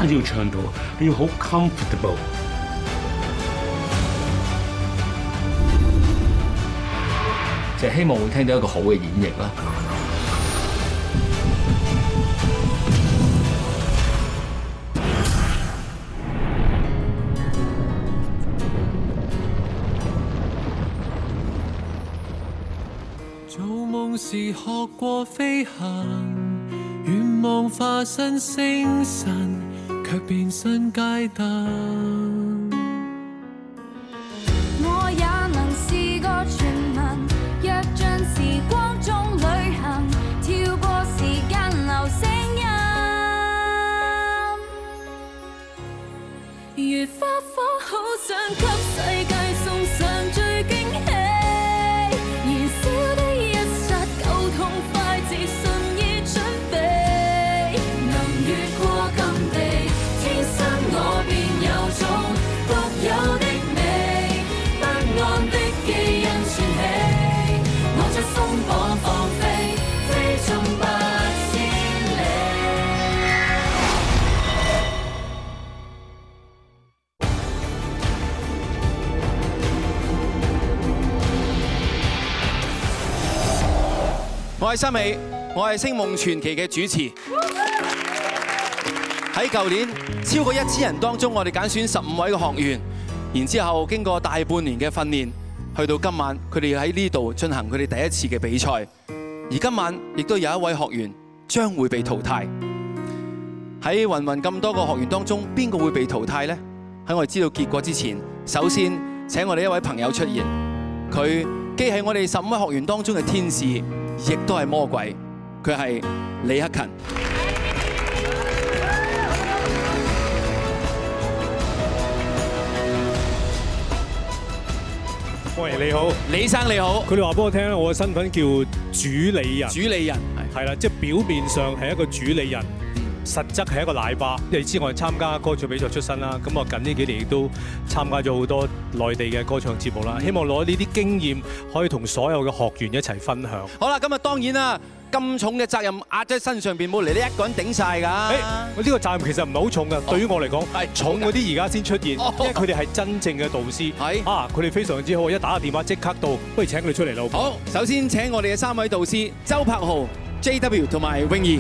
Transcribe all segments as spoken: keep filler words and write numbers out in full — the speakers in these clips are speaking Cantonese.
單止要唱到，你要好 comfortable。 就希望會聽到一個好嘅演繹啦。 做夢時學過飛行，願望化身星辰，卻變身街燈。 我也能是個傳聞，躍進時光中旅行，跳過時間流聲音。如花火，好想給世界送上最驚喜。燃燒的一剎，夠痛快，自信已準備。能越過禁地，天生我便有種獨有的美。不安的基因串起，我在鬆綁放飛，飛進八千里。 我係森美，我係星夢傳奇嘅主持。喺舊年超過一千人當中，我哋揀選十五位嘅學員，然之後經過大半年嘅訓練，去到今晚佢哋喺呢度進行佢哋第一次嘅比賽。而今晚亦都有一位學員將會被淘汰。喺芸芸咁多個學員當中，邊個會被淘汰呢？喺我哋知道結果之前，首先請我哋一位朋友出現。佢既係我哋十五位學員當中嘅天使，亦都係魔鬼。佢係李克勤。 喂，你好， 李生你好。 佢哋話俾我聽咧，我嘅身份叫主理人。 主理人係啦，即係表面上係一個主理人，實質係一個奶爸。你知我係參加歌唱比賽出身啦，咁我近呢幾年亦都參加咗好多內地嘅歌唱節目啦。希望攞呢啲經驗可以同所有嘅學員一齊分享。 好啦，咁啊當然啦，咁重嘅責任壓喺身上邊，冇嚟你一個人頂晒㗎。 誒，我呢個責任其實唔係好重㗎，對於我嚟講，重嗰啲而家先出現，因為佢哋係真正嘅導師。係啊，佢哋非常之好，一打個電話即刻到，不如請佢哋出嚟啦。 好，首先請我哋嘅三位導師周柏豪、J W 同埋泳兒。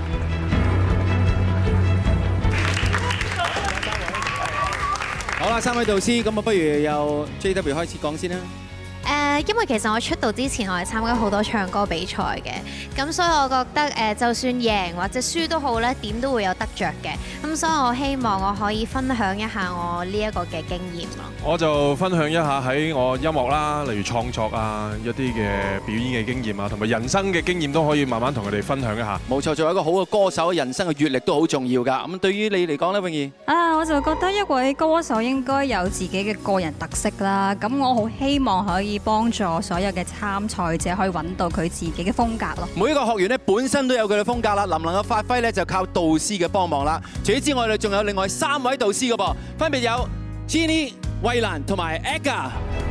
好啦，三位導師，咁啊，不如由 J W 開始講先啦。 誒，因為其實我出道之前，我係參加好多唱歌比賽嘅，咁所以我覺得誒，就算贏或者輸都好咧，點都會有得着嘅。咁所以我希望我可以分享一下我呢一個嘅經驗咯。 我就分享一下喺我音樂啦，例如創作啊，一啲嘅表演嘅經驗啊，同埋人生嘅經驗都可以慢慢同佢哋分享一下。 冇錯，做一個好嘅歌手，人生嘅閲歷都好重要㗎。咁對於你嚟講咧，泳兒啊，我就覺得一位歌手應該有自己嘅個人特色啦。咁我好希望可以幫助所有嘅參賽者可以揾到佢自己嘅風格咯。 每一個學員咧本身都有佢嘅風格啦，能唔能夠發揮咧就靠導師嘅幫忙啦。除此之外，我哋仲有另外三位導師嘅噃，分別有 Jenny、衛蘭同埋 Aga。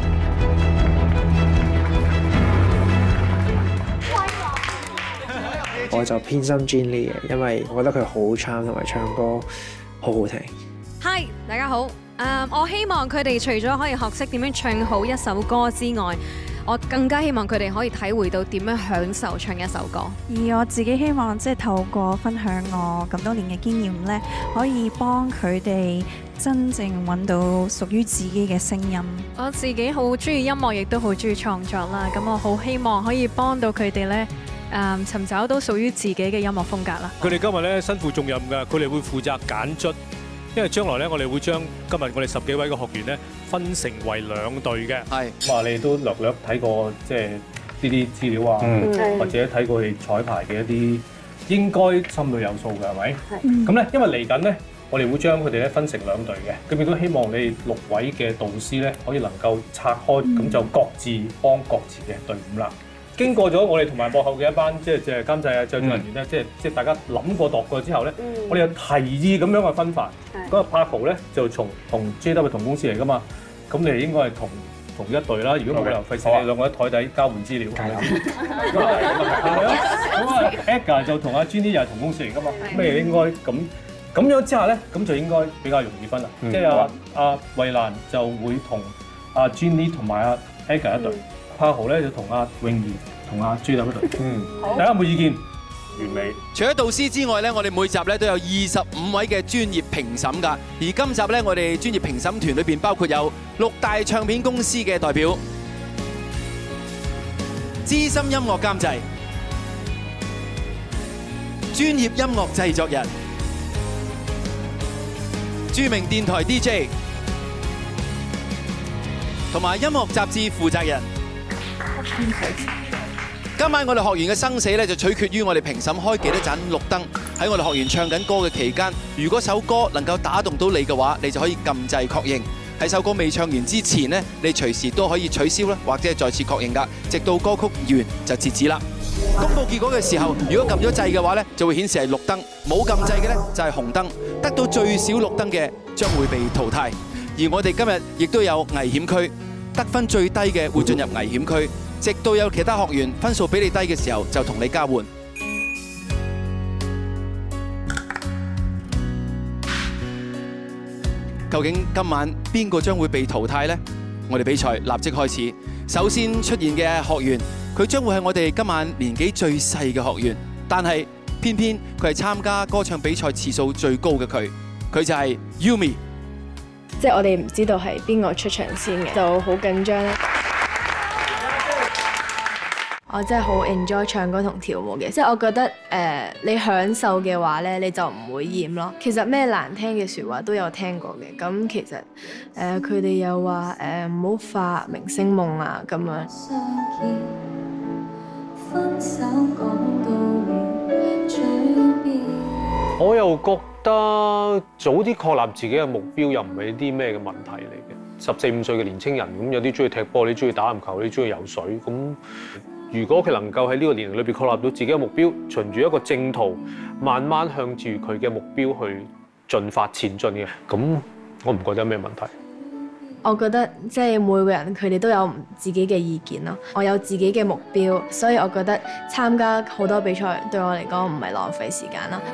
我就偏心 Jenny 嘅，因為我覺得佢好 charm 同埋唱歌好好聽。 Hi， 大家好。誒，我希望佢哋除咗可以學識點樣唱好一首歌之外，我更加希望佢哋可以體會到點樣享受唱一首歌。 而我自己希望即係透過分享我咁多年嘅經驗咧，可以幫佢哋真正揾到屬於自己嘅聲音。 我自己好中意音樂，亦都好中意創作啦。咁我好希望可以幫到佢哋咧，誒尋找到屬於自己嘅音樂風格啦。 佢哋今日咧身負重任㗎，佢哋會負責揀卒。因為將來咧，我哋會將今日我哋十幾位嘅學員咧分成為兩隊嘅。係，咁啊，你都略略睇過即係呢啲資料啊，嗯、或者睇過佢哋彩排嘅一啲，應該心裏有數嘅係咪？係。咁咧，因為嚟緊咧，我哋會將佢哋咧分成兩隊嘅，咁亦都希望你哋六位嘅導師咧可以能夠拆開，咁、嗯、就各自幫各自嘅隊伍啦。經過咗我哋同埋幕後嘅一班即係即係監製啊、製作人員咧，即係即係大家諗過度過之後咧，嗯、我哋有提議咁樣去分法。嗰個 Paco 咧就從同 J W 同公司嚟噶嘛，咁你哋應該係同同一隊啦。如果冇理由費事你兩個喺台底交換資料。係啊，咁啊 Aga 就同阿 Jenny 又係同公司嚟噶嘛，咁你哋應該咁咁樣之下咧，咁就應該比較容易分啦。 嗯即係阿阿衛蘭就會同阿 Jenny 同埋阿 Aga 一隊，柏豪咧就同阿泳兒同阿朱立一隊。嗯，大家有冇意見？完美。 除咗導師之外咧，我哋每集咧都有二十五位嘅專業評審㗎。而今集咧，我哋專業評審團裏邊包括有六大唱片公司嘅代表、資深音樂監製、專業音樂製作人、著名電台 D J 同埋音樂雜誌負責人。今晚我哋學員嘅生死咧，就取決於我哋評審開幾多盞綠燈。喺我哋學員唱緊歌嘅期間，如果首歌能夠打動到你嘅話，你就可以撳掣確認。喺首歌未唱完之前呢，你隨時都可以取消啦，或者係再次確認㗎，直到歌曲完就截止啦。公佈結果嘅時候，如果撳咗掣嘅話咧，就會顯示係綠燈；冇撳掣嘅咧就係紅燈。得到最少綠燈嘅將會被淘汰。而我哋今日亦都有危險區，得分最低嘅會進入危險區。直到有其他學員分數比你低嘅時候，就同你交換。究竟今晚邊個將會被淘汰呢？我哋比賽立即開始。首先出現嘅學員，佢將會係我哋今晚年紀最細嘅學員，但係偏偏佢係參加歌唱比賽次數最高嘅佢，佢就係 Yumi。 即係我哋唔知道係邊個出場先嘅，就好緊張啦。我真係好 enjoy 唱歌同跳舞嘅，即係我覺得誒、呃、你享受嘅話咧，你就唔會厭咯。其實咩難聽嘅説話都有聽過嘅，咁其實誒佢哋又話誒唔好發明星夢啊咁樣。 我又覺得早啲確立自己嘅目標又唔係啲咩嘅問題嚟嘅。十四五歲嘅年青人咁，有啲中意踢波，你中意打籃球，你中意游水咁。如果佢能夠喺呢個年齡裏邊確立到自己嘅目標，循住一個正途，慢慢向住佢嘅目標去進發前進嘅，咁我唔覺得有咩問題。 我覺得即係每個人佢哋都有自己嘅意見咯。我有自己嘅目標，所以我覺得參加好多比賽對我嚟講唔係浪費時間啦。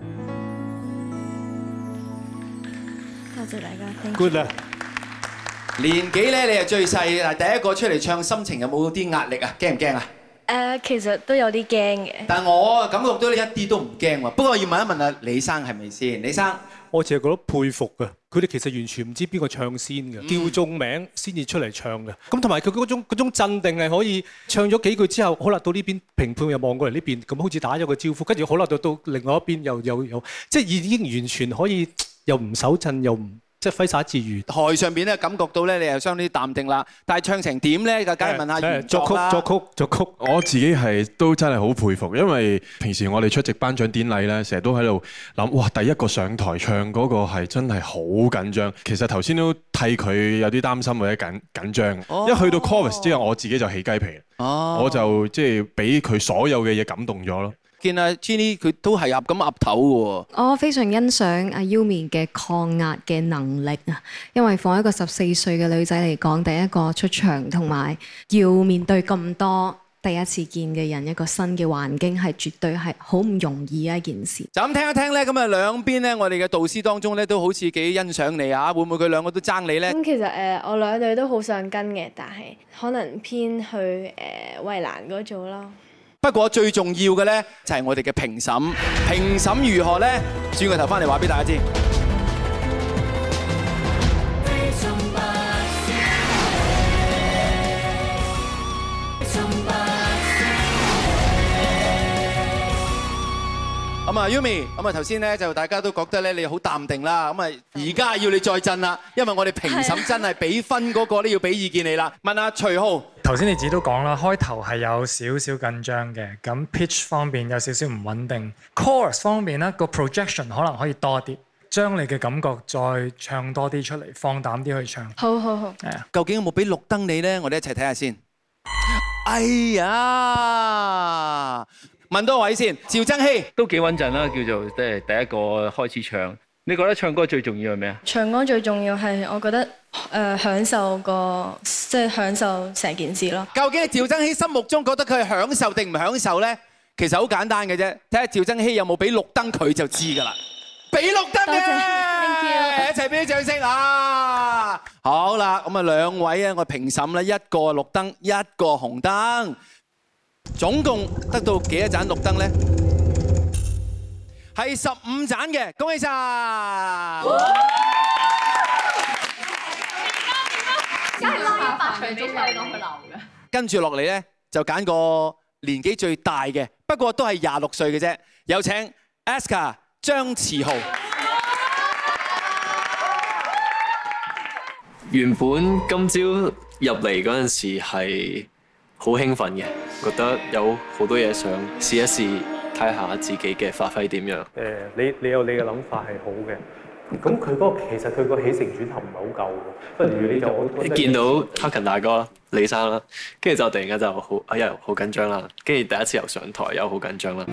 Good 啦年紀咧你係最細，嗱第一個出嚟唱，心情有冇啲壓力啊？驚唔驚啊？ 誒，其實都有啲驚嘅。 但我感覺到你一啲都唔驚喎。不過要問一問啊，李生係咪先？李生， 我淨係覺得佩服㗎。佢哋其實完全唔知邊個唱先嘅，叫中名先至出嚟唱嘅。咁同埋佢嗰種嗰種鎮定係可以唱咗幾句之後，好啦，到呢邊評判又望過嚟呢邊，咁好似打咗個招呼，跟住好啦，到到另外一邊又又又，即係已經完全可以又唔手震又唔。即係揮灑自如， 台上邊咧感覺到咧，你又相當淡定啦。但係唱成點咧？就梗係問下原作啦。 作曲、作曲、作曲。我自己係都真係好佩服，因為平時我哋出席頒獎典禮咧，成日都喺度諗，哇！第一個上台唱嗰個係真係好緊張。其實頭先都替佢有啲擔心或者緊緊張。一去到 chorus 之後，我自己就起雞皮。我就即係俾佢所有嘅嘢感動咗咯。 見阿 Jenny 佢都係噏咁噏頭嘅喎。 我非常欣賞阿 Yumi 嘅抗壓嘅能力啊，因為放一個十四歲嘅女仔嚟講，第一個出場同埋要面對咁多第一次見嘅人，一個新嘅環境係絕對係好唔容易嘅一件事。 就咁聽一聽咧，咁啊兩邊咧，我哋嘅導師當中咧都好似幾欣賞你啊，會唔會佢兩個都爭你咧？ 咁其實誒，我兩隊都好想跟嘅，但係可能偏去誒衛蘭嗰組咯。 不過最重要嘅咧，就係我哋嘅評審，評審如何咧？轉個頭翻嚟話俾大家知。咁啊 Yumi， 咁啊頭先咧就大家都覺得咧你好淡定啦，咁啊而家要你再震啦，因為我哋評審真係俾分嗰個都要俾意見你啦。問下徐浩， 頭先你自己都講啦，開頭係有少少緊張嘅，咁 pitch 方面有少少唔穩定 ，chorus 方面咧個 projection 可能可以多啲，將你嘅感覺再唱多啲出嚟，放膽啲去唱。 好好好。 係啊。究竟有冇俾綠燈你咧？我哋一齊睇下先。哎呀！問多位先，趙增熹都幾穩陣啦，叫做即係第一個開始唱。你覺得唱歌最重要係咩啊？ 唱歌最重要係我覺得誒、呃、享受個即係享受成件事咯。 究竟趙增熹心目中覺得佢係享受定唔享受咧？其實好簡單嘅啫，睇下趙增熹有冇俾綠燈佢就知㗎啦。俾綠燈嘅，一齊俾啲掌聲啊！好啦，咁啊兩位啊，我評審咧，一個綠燈，一個紅燈。總共得到幾多盞綠燈咧？係十五盞嘅，恭喜晒！ 梗係拉八場中計當佢流嘅。 跟住落嚟咧，就揀個年紀最大嘅，不過都係廿六歲嘅啫。有請 Aska 張馳豪。 原本今朝入嚟嗰陣時係好興奮嘅，覺得有好多嘢想試一試，睇下自己嘅發揮點樣。 誒，你你有你嘅諗法係好嘅，咁佢嗰個其實佢個起承轉合唔係好夠嘅，不如你就我見到 Hacken 大哥、李生啦，跟住就突然間就好哎呀好緊張啦，跟住第一次又上台又好緊張啦。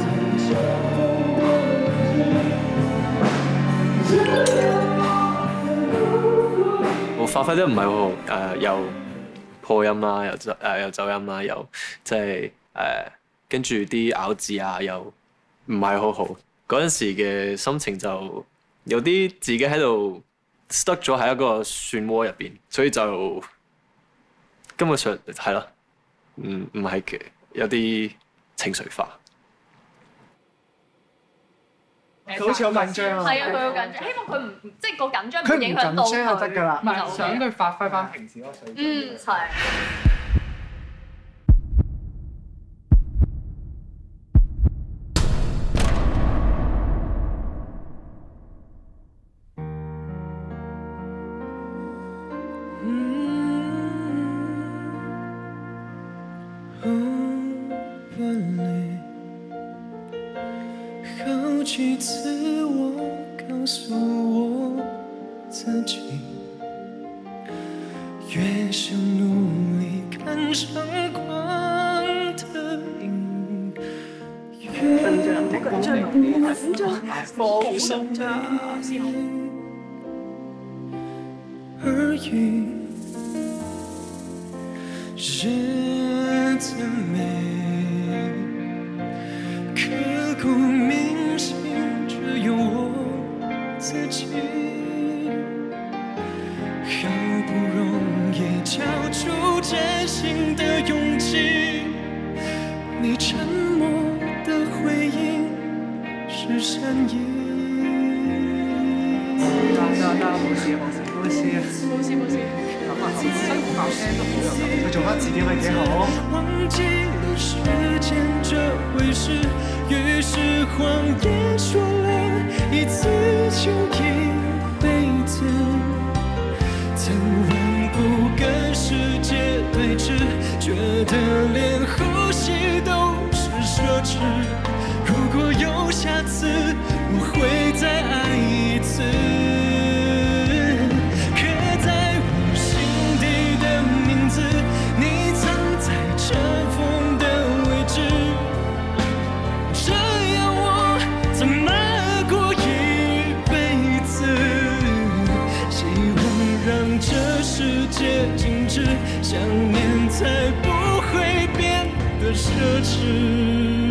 我發揮得唔係好好，誒又破音啦，又走誒又走音啦，又即係誒跟住啲咬字啊，又唔係好好。嗰陣時嘅心情就有啲自己喺度 stuck 咗喺一個漩渦入邊，所以就根本上係咯，唔唔係嘅，有啲情緒化。 佢好似好緊張啊！係啊，佢好緊張，希望佢唔即係個緊張唔影響到佢。佢唔緊張就得㗎啦，唔係想佢發揮翻平時嗰個水平。嗯，係。 好几次我告诉我自己，越想努力看上光的影，越紧張，緊張，放心而已，日子美，刻骨铭心只有我自己，好不容易你沉默的回应是善意。得得得，冇事冇事冇事冇事冇事，辛苦把聲都好有感，佢做翻自己咪幾好。忘記了時間這回事，於是謊言說了一次就一輩子，曾萬不跟世界對峙，覺得連呼吸都是奢侈。如果有下次，我會再愛一次。刻在我心底的名字，你藏在塵封的位置。這樣我怎麼過一輩子？希望讓這世界靜止，想念才不會變得奢侈。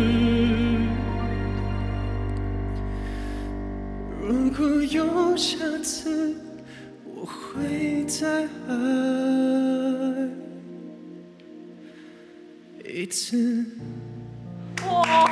如果有下次，我會再愛一次。哇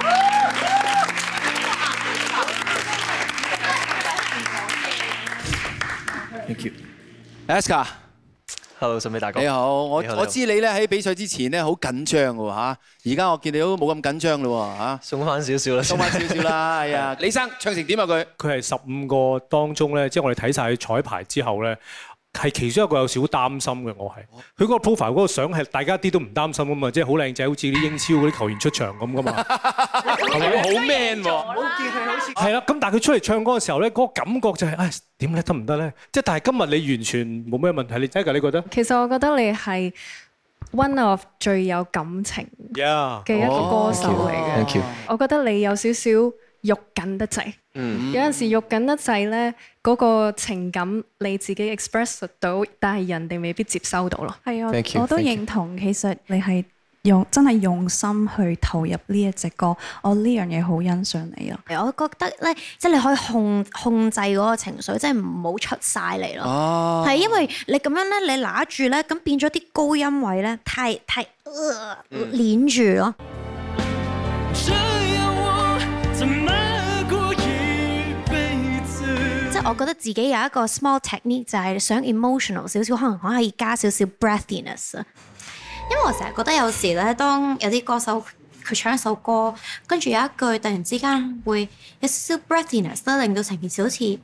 ！Thank you，Aska。Hello， 森美大哥。 你好，我你好我知你咧喺比賽之前咧好緊張嘅喎嚇，而家我見你都冇咁緊張嘞喎嚇， 鬆翻少少啦， 鬆翻少少啦，係啊。李生唱成點啊佢？ 佢係十五個當中咧，即係我哋睇晒佢彩排之後咧，係其中一個有少少擔心嘅。我係佢嗰個 profile 嗰個相係大家一啲都唔擔心噶嘛，即係好靚仔，好似啲英超嗰啲球員出場咁噶嘛。係咪好 man 喎？ 冇見佢好似係啦，咁但係佢出嚟唱歌嘅時候咧，嗰個感覺就係唉點咧得唔得咧？即係但係今日你完全冇咩問題，你真係㗎？你覺得？ 其實我覺得你係 one of 最有感情嘅一個歌手嚟嘅。 Thank you。 我覺得你有少少肉緊得滯， 嗯， 有陣時肉緊得滯咧，嗰個情感你自己 express 到，但係人哋未必接收到咯。 係啊 Thank you， 我都 thank you。 認同，其實你係用真係用心去投入呢一隻歌，我呢樣嘢好欣賞你啊！ 我覺得咧，即係你可以控控制嗰個情緒，即係唔好出晒嚟咯。 哦， 係因為你咁樣咧，你拿住咧，咁變咗啲高音位咧，太太呃攣住咯。即係我覺得自己有一個 small technique，就係想 emotional 少少，可能可以加少少 breathiness 啊。因為我成日覺得有時咧，當有啲歌手佢唱一首歌，跟住有一句突然之間會有少少 breathiness 咧，令到成件事好似誒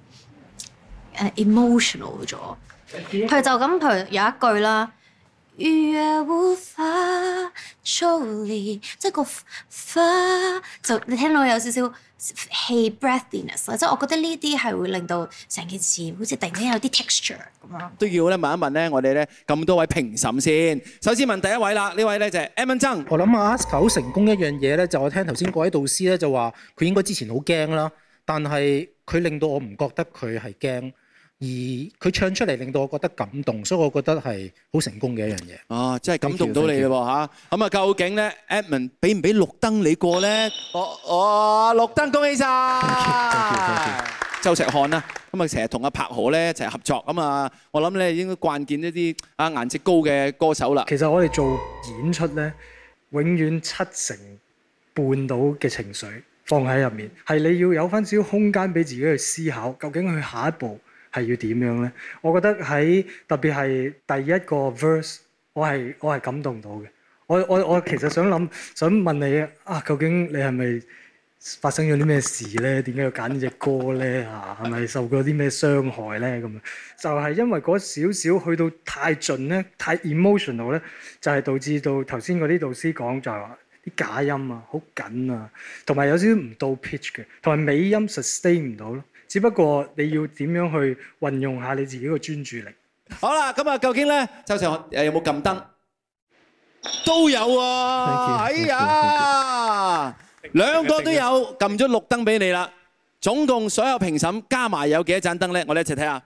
emotional 咗。佢就咁，譬如有一句啦，逾越無法抽離，即係個花就你聽到有少少氣 breathiness 啦，即係我覺得呢啲係會令到成件事好似突然間有啲 texture 咁樣。 都要咧問一問咧，我哋咧咁多位評審先。首先問第一位啦，呢位咧就係 Edmond 曾。 我諗阿 Aska 好成功一樣嘢咧，就我聽頭先嗰位導師咧就話佢應該之前好驚啦，但係佢令到我唔覺得佢係驚。而佢唱出嚟令到我覺得感動，所以我覺得係好成功嘅一樣嘢。 哦，真係感動到你嘞喎嚇！咁啊，究竟咧 Edmond 俾唔俾綠燈你過咧？哦哦，綠燈恭喜晒！周石漢啦，咁啊成日同阿柏河咧一齊合作，咁啊我諗咧應該慣見一啲啊顏值高嘅歌手啦。 其實我哋做演出咧，永遠七成半到嘅情緒放喺入面，係你要有翻少少空間俾自己去思考，究竟佢下一步係要點樣咧？我覺得喺特別係第一個 verse，我係我係感動到嘅。我我我其實想諗想問你啊，究竟你係咪發生咗啲咩事咧？點解要揀呢隻歌咧？嚇，係咪受過啲咩傷害咧？咁樣就係因為嗰少少去到太盡咧，太 emotional 咧，就係導致到頭先嗰啲導師講就係話啲假音啊，好緊啊，同埋有少少唔到 pitch 嘅，同埋尾音 sustain 唔到咯。只不過你要點樣去運用下你自己個專注力。 好啦，咁啊，究竟咧，周世漢誒有冇撳燈？都有喎，哎呀，兩個都有撳咗綠燈俾你啦。總共所有評審加埋有幾多盞燈咧？我哋一齊睇下。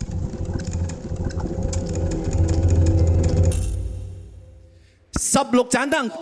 十六盞燈。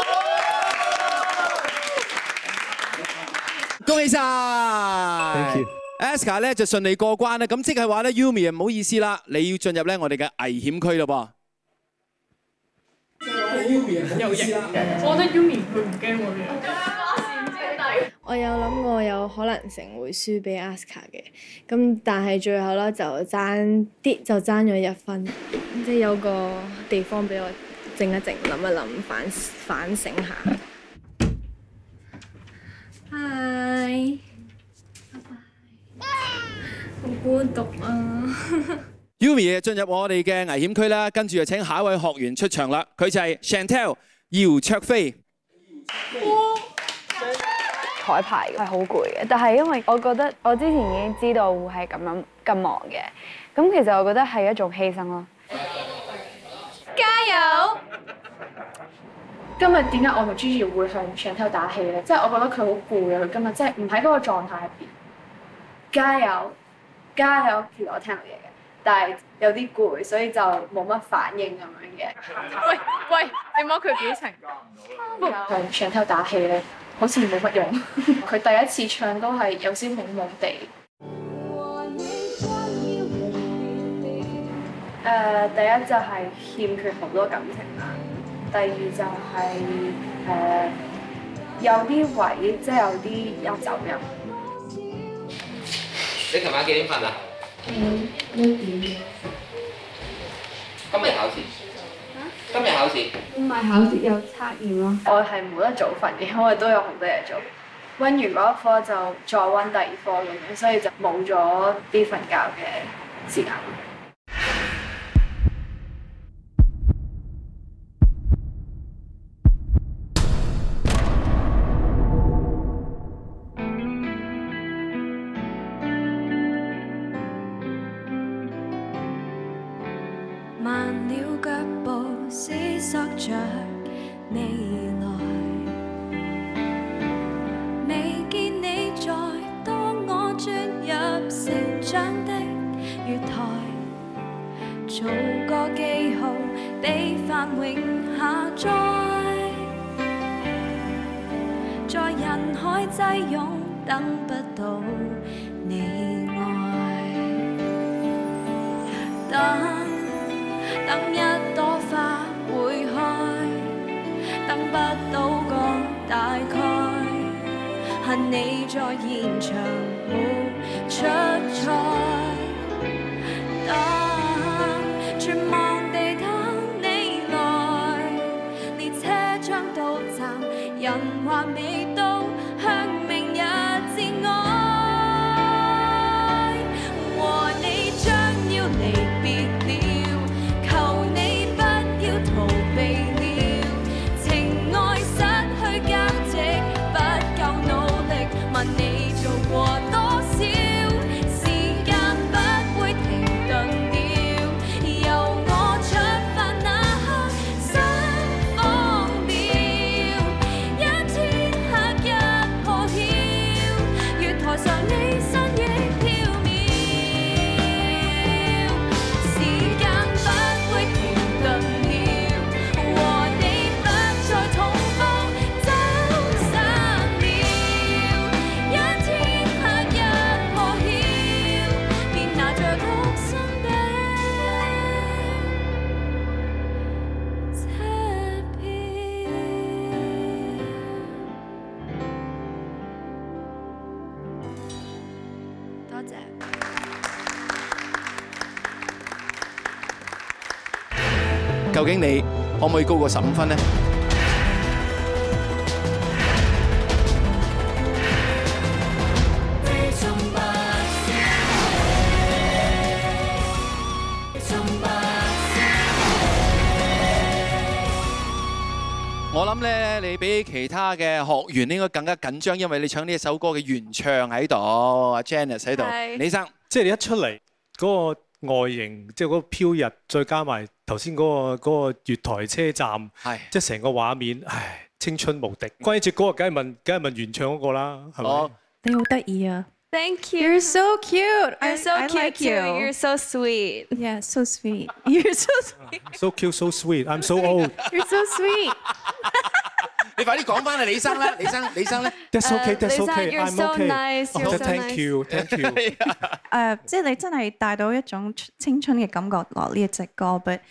恭喜晒 Thank you。 Aska 咧就順利過關啦，咁即係話咧 Yumi 唔好意思啦，你要進入咧我哋嘅危險區咯噃。 有型嘅。我覺得 Yumi 佢唔驚我嘅。 我有諗過有可能性會輸俾 Aska 嘅，咁但係最後咧就爭啲，就爭咗一分，即係有個地方俾我靜一靜，諗一諗，反反省下。Hi， 拜拜。好孤獨啊 ！Yumi 進入我哋嘅危險區啦，跟住就請下一位學員出場啦，佢就係 Chantel 姚焯菲。 彩排係好攰嘅，但係因為我覺得我之前已經知道會係咁樣咁忙嘅，咁其實我覺得係一種犧牲咯。 加油！今日點解我同 Gigi 會向 Chantel 打氣咧？即係我覺得佢好攰啊！佢今日即係唔喺嗰個狀態入邊。加油！加油！其實我聽到嘢嘅，但係有啲攰，所以就冇乜反應咁樣嘅。喂喂，你摸佢表情。向 Chantel 打氣咧。好似冇乜用，佢第一次唱都係有啲懵懵地。誒、呃，第一就係欠缺好多感情啦，第二就係、是、誒、呃、有啲位即係有啲有走音。 你琴晚幾點瞓啊？ 嗯，一點嘅。 今日考試。今日考試？ 唔係考試，有測驗咯。我係冇得早瞓嘅，因為都有好多嘢做。温完嗰一科就再温第二科咁樣，所以就冇咗啲瞓覺嘅時間。 慢了腳步，思索着未來。未見你在，當我轉入成長的月台，做個記號，被繁榮下載。在人海擠擁，等不到你愛。等。等一朵花會開，等不到個大概，恨你在現場沒出賽。等絕望地等你來，列車將到站，人還未到，向明日致哀。和你將要離別了。逃避了，情愛失去價值，不夠努力，問你做過多少？時間不會停頓了，由我出發那刻，心慌了，一天黑日破曉，月台上你身影飄渺，時間不會停頓。 究竟你可唔可以高過十五分呢？我諗咧，你比其他嘅學員應該更加緊張，因為你唱呢一首歌嘅原唱喺度，阿 Janice 喺度，李生， 即係你一出嚟嗰個外形，即係嗰個飄逸，再加埋頭先嗰個嗰個月台車站，即係成個畫面，唉，青春無敵。關於隻歌，梗係問，梗係問原唱嗰個啦，係咪？ 你好得意啊！ Thank you. You're so cute. You're so I, cute I like too. you. You're so sweet. Yeah, so sweet. You're so sweet. So cute, so sweet. I'm so old. You're so sweet. 你快啲講翻啊，李生啦，李生，李生咧。 That's okay, that's okay. You're I'm so okay. nice. You're so Thank you, thank you. 誒，即係你真係帶到一種青春嘅感覺落呢一隻歌，but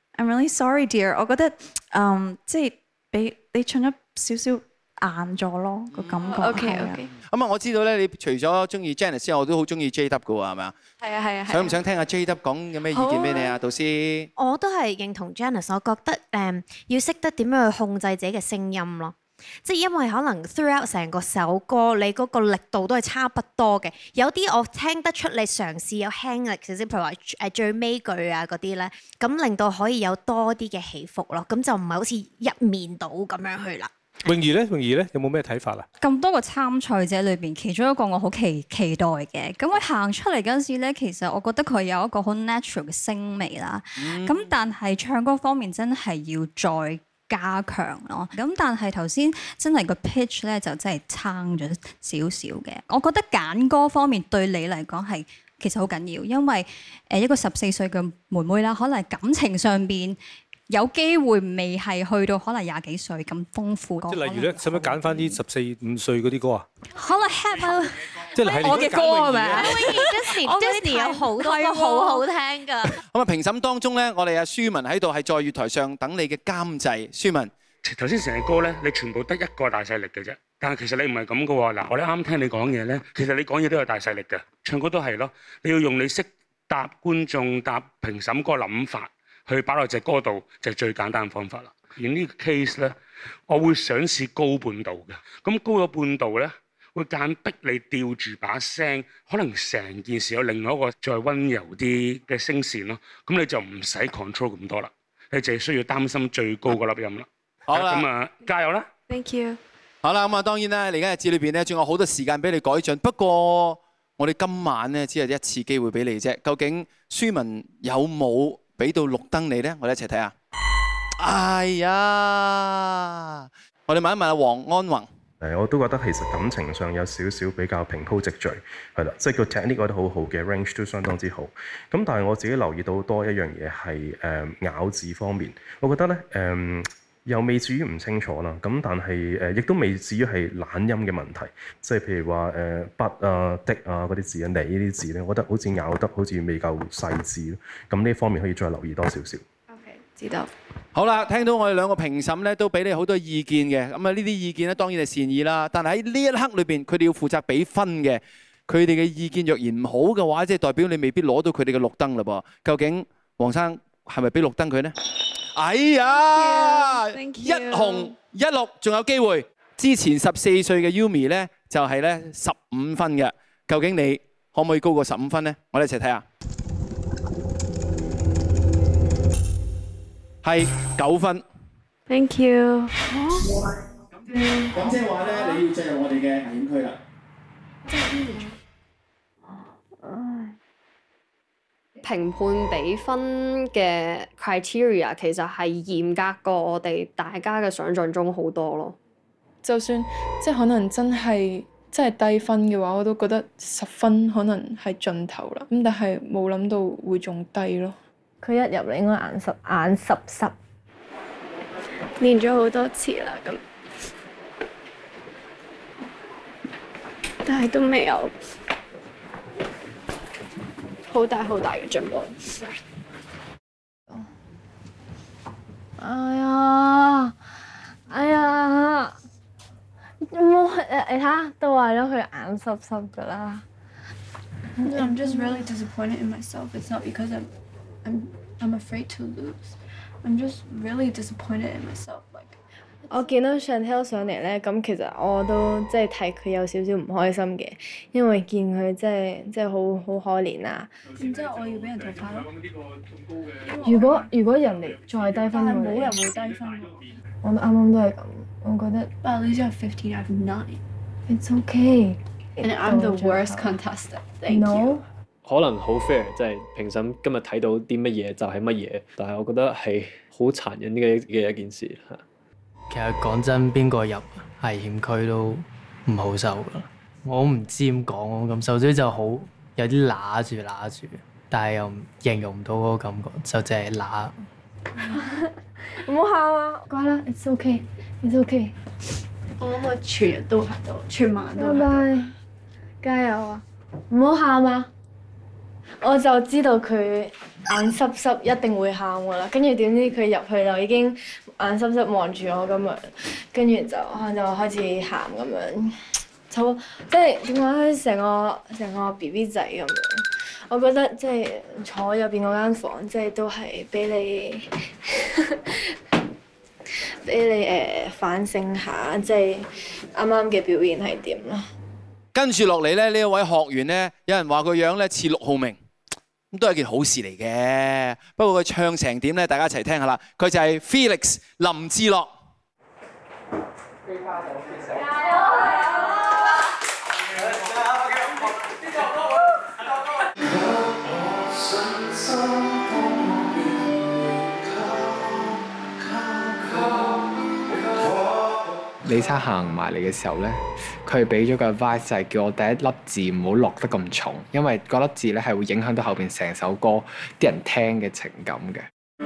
I'm really sorry, dear。我覺得嗯，即係俾你唱咗少少硬咗咯，個感覺。 OK OK。 咁啊，我知道咧，你除咗中意 Janice 之外，我都好中意 J W 嘅喎，係咪啊？ 係啊係啊。 想唔想聽下 J W 講有咩意見俾你啊，導師？ 我都係認同 Janice， 我覺得誒、嗯、要識得點樣去控制自己嘅聲音咯。即係因為可能 throughout 成個首歌，你嗰個力度都係差不多嘅。有啲我聽得出你嘗試有輕力少少，譬如話誒最尾句啊嗰啲咧，咁令到可以有多啲嘅起伏咯。咁就唔係好似一面倒咁樣去啦。 泳兒咧，泳兒咧有冇咩睇法啊？ 咁多個參賽者裏邊，其中一個我好期期待嘅，咁佢行出嚟嗰陣時咧，其實我覺得佢有一個好 natural 嘅聲味啦。咁、嗯、但係唱歌方面真係要再加強咯。咁但係頭先真係個 pitch 咧就真係差咗少少嘅。我覺得揀歌方面對你嚟講係其實好緊要，因為誒一個十四歲嘅妹妹啦，可能感情上邊有機會未係去到可能廿幾歲咁豐富。 即係例如咧，使唔使揀翻啲十四五歲嗰啲歌啊？ 可能 have 即係我嘅歌係咪 ？Disney 有好多歌好好聽㗎。 咁啊，評審當中咧，我哋阿舒文喺度係在月台上等你嘅監製。舒文， 頭先成隻歌咧，你全部得一個大勢力嘅啫。但係其實你唔係咁嘅喎。嗱，我哋啱聽你講嘢咧，其實你講嘢都有大勢力嘅，唱歌都係咯。你要用你識答觀眾、答評審嗰個諗法。去擺落隻歌度就係最簡單嘅方法啦。而呢個 case 咧，我會想試高半度嘅。咁高咗半度咧，會間逼你吊住把聲，可能成件事有另外一個再溫柔啲嘅聲線咯。咁你就唔使 control 咁多啦，你淨係需要擔心最高嗰粒音啦。 好啦， 咁啊，加油啦 ！Thank you。 好啦，咁啊，當然啦，嚟緊日子裏邊咧，仲有好多時間俾你改進。不過我哋今晚咧只係一次機會俾你啫。究竟舒文有冇俾到綠燈你咧？我哋一齊睇下。哎呀！我哋問一問阿黃安宏。 誒，我都覺得其實感情上有少少比較平鋪直敍，係啦，即係個 technique 覺得好好嘅 range 都相當之好。咁但係我自己留意到多一樣嘢係誒咬字方面，我覺得咧誒、呃、又未至於唔清楚啦。咁但係誒亦都未至於係懶音嘅問題，即係譬如話誒不啊的啊嗰啲字啊你呢啲字咧，我覺得好似咬得好似未夠細緻咯。咁呢方面可以再留意多少少。 OK，知道。 好啦，聽到我哋兩個評審咧都俾你好多意見嘅，咁啊呢啲意見咧當然係善意啦，但係喺呢一刻裏邊，佢哋要負責俾分嘅，佢哋嘅意見若然唔好嘅話，即係代表你未必攞到佢哋嘅綠燈嘞噃。究竟黃生係咪俾綠燈佢呢？哎呀，一紅一綠仲有機會。之前十四歲嘅 Yumi 咧就係咧十五分嘅，究竟你可唔可以高過十五分呢？我哋一齊睇下。係九分。 Thank you。 咁即係話咧，你要進入我哋嘅危險區啦。 評判俾分嘅 criteria 其實係嚴格過我哋大家嘅想像中好多咯。 就算即係可能真係真係低分嘅話，我都覺得十分可能係盡頭啦。咁但係冇諗到會仲低咯。 佢一入嚟應該眼濕眼濕濕，練咗好多次啦，咁但係都未有好大好大嘅進步。哎呀，哎呀，冇誒你睇下，都話咗佢眼濕濕㗎啦。 I'm just really disappointed in myself. It's not because I'm I'm I'm afraid to lose. I'm just really disappointed in myself. Like 我見到 Chantel 上嚟咧，咁其實我都即係睇佢有少少唔開心嘅，因為見佢即係即係好好可憐啊。 然之後我要俾人淘汰咯。 如果如果人哋再低分， 但係冇人會低分。 我啱啱都係咁，我覺得。 But at least you have fifteen out of nine. It's okay. And I'm the worst contestant. Thank you. 可能好 fair，即係評審今日睇到啲乜嘢就係乜嘢，但係我覺得係好殘忍嘅嘅一件事嚇。 其實講真，邊個入危險區都唔好受㗎。我唔知點講，我感受咗就好有啲揦住揦住，但係又形容唔到嗰個感覺，就淨係揦。 唔好喊啊！乖啦 ，It's okay，It's okay。 我諗我全日都喺度，全晚都。 拜拜，加油啊！唔好喊啊！ 我就知道佢眼濕濕一定會喊噶啦，跟住點知佢入去就已經眼濕濕望住我咁樣，跟住就可能就開始喊咁樣，就即係點講咧？成個成個 B B 仔咁樣。我覺得即係坐入邊嗰間房，即係都係俾你俾你誒、呃、反省下，即係啱啱嘅表現係點咯。 跟住落嚟咧，呢一位學員咧，有人話個樣咧似陸浩明，咁都係件好事嚟嘅。不過佢唱成點咧，大家一齊聽下啦。佢就係 Felix 林志樂。 李生行埋嚟嘅時候咧，佢俾咗個 advice 就係叫我第一粒字唔好落得咁重，因為嗰粒字咧係會影響到後邊成首歌啲人聽嘅情感嘅。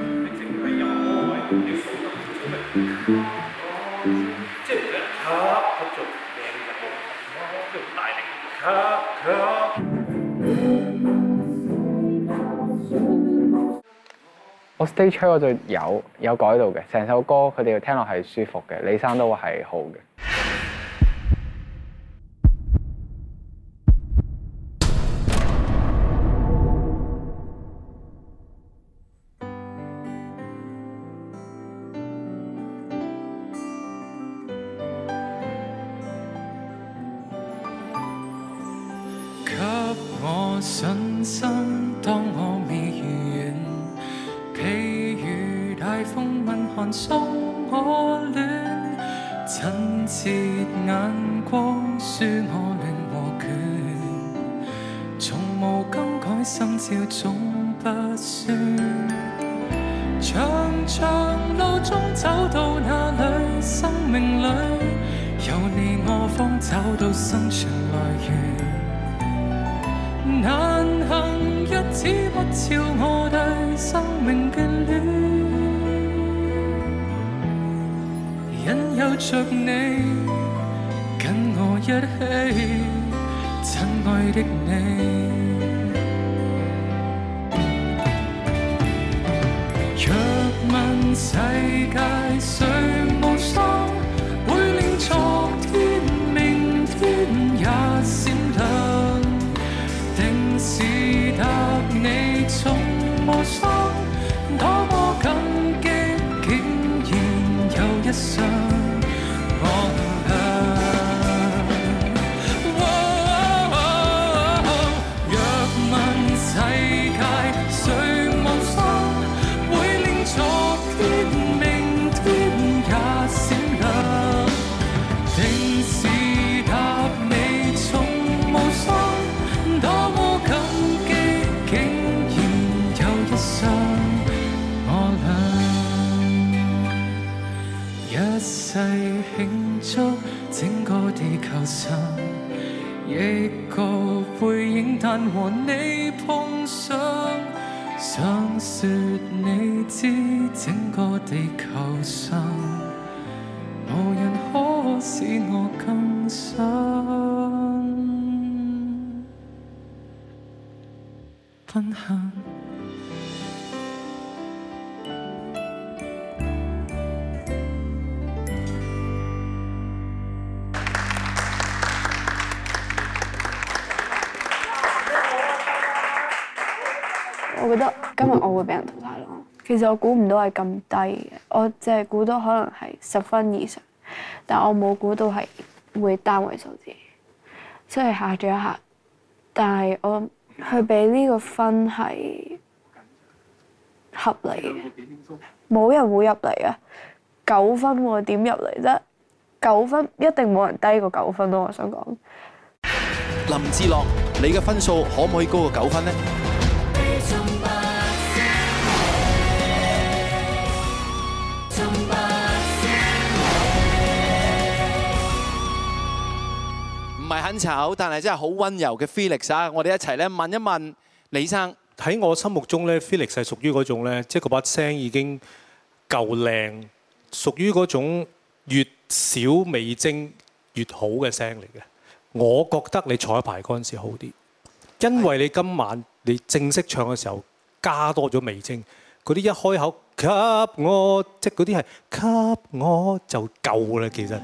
我 stage show 我就有有改到嘅，成首歌佢哋聽落係舒服嘅，李生都話係好嘅。 給我信心，當我未如願。譬如大風吻寒送我戀，親切眼光輸我亂和倦，從無更改心照總不酸。長長路中走到哪裏，生命裏有你我方找到生存來源。難行日子不照我對生命眷戀，引誘着你跟我一起，親愛的你。若問世界誰無雙，會令昨天明天也閃亮。定是答你從無雙，多麼感激，竟然有一雙我倆。若問世界誰無雙，會令昨天明天也閃亮。定是答你從無雙。多麼感激，竟然有一雙我倆，一世慶祝整個地球上，一個背影，但和你碰上，想說你知整個地球上，無人可使我更想。分享。 我覺得今日我會俾人淘汰咯。其實我估唔到係咁低嘅，我淨係估到可能係十分以上，但我冇估到係會單位數字，所以嚇咗一嚇。但係我佢俾呢個分係合理嘅，冇人會入嚟啊！九分喎，點入嚟啫？九分一定冇人低過九分咯，我想講。 林志樂，你嘅分數可唔可以高過九分呢？唔係很醜，但係真係好溫柔嘅 Felix 啊！我哋一齊咧問一問李生。 喺我心目中咧 ，Felix 係屬於嗰種咧，即係嗰把聲已經夠靚，屬於嗰種越少味精越好嘅聲嚟嘅。我覺得你彩排嗰陣時好啲， 因為你今晚你正式唱嘅時候加多咗味精，嗰啲一開口給我，即係嗰啲係給我就夠啦，其實。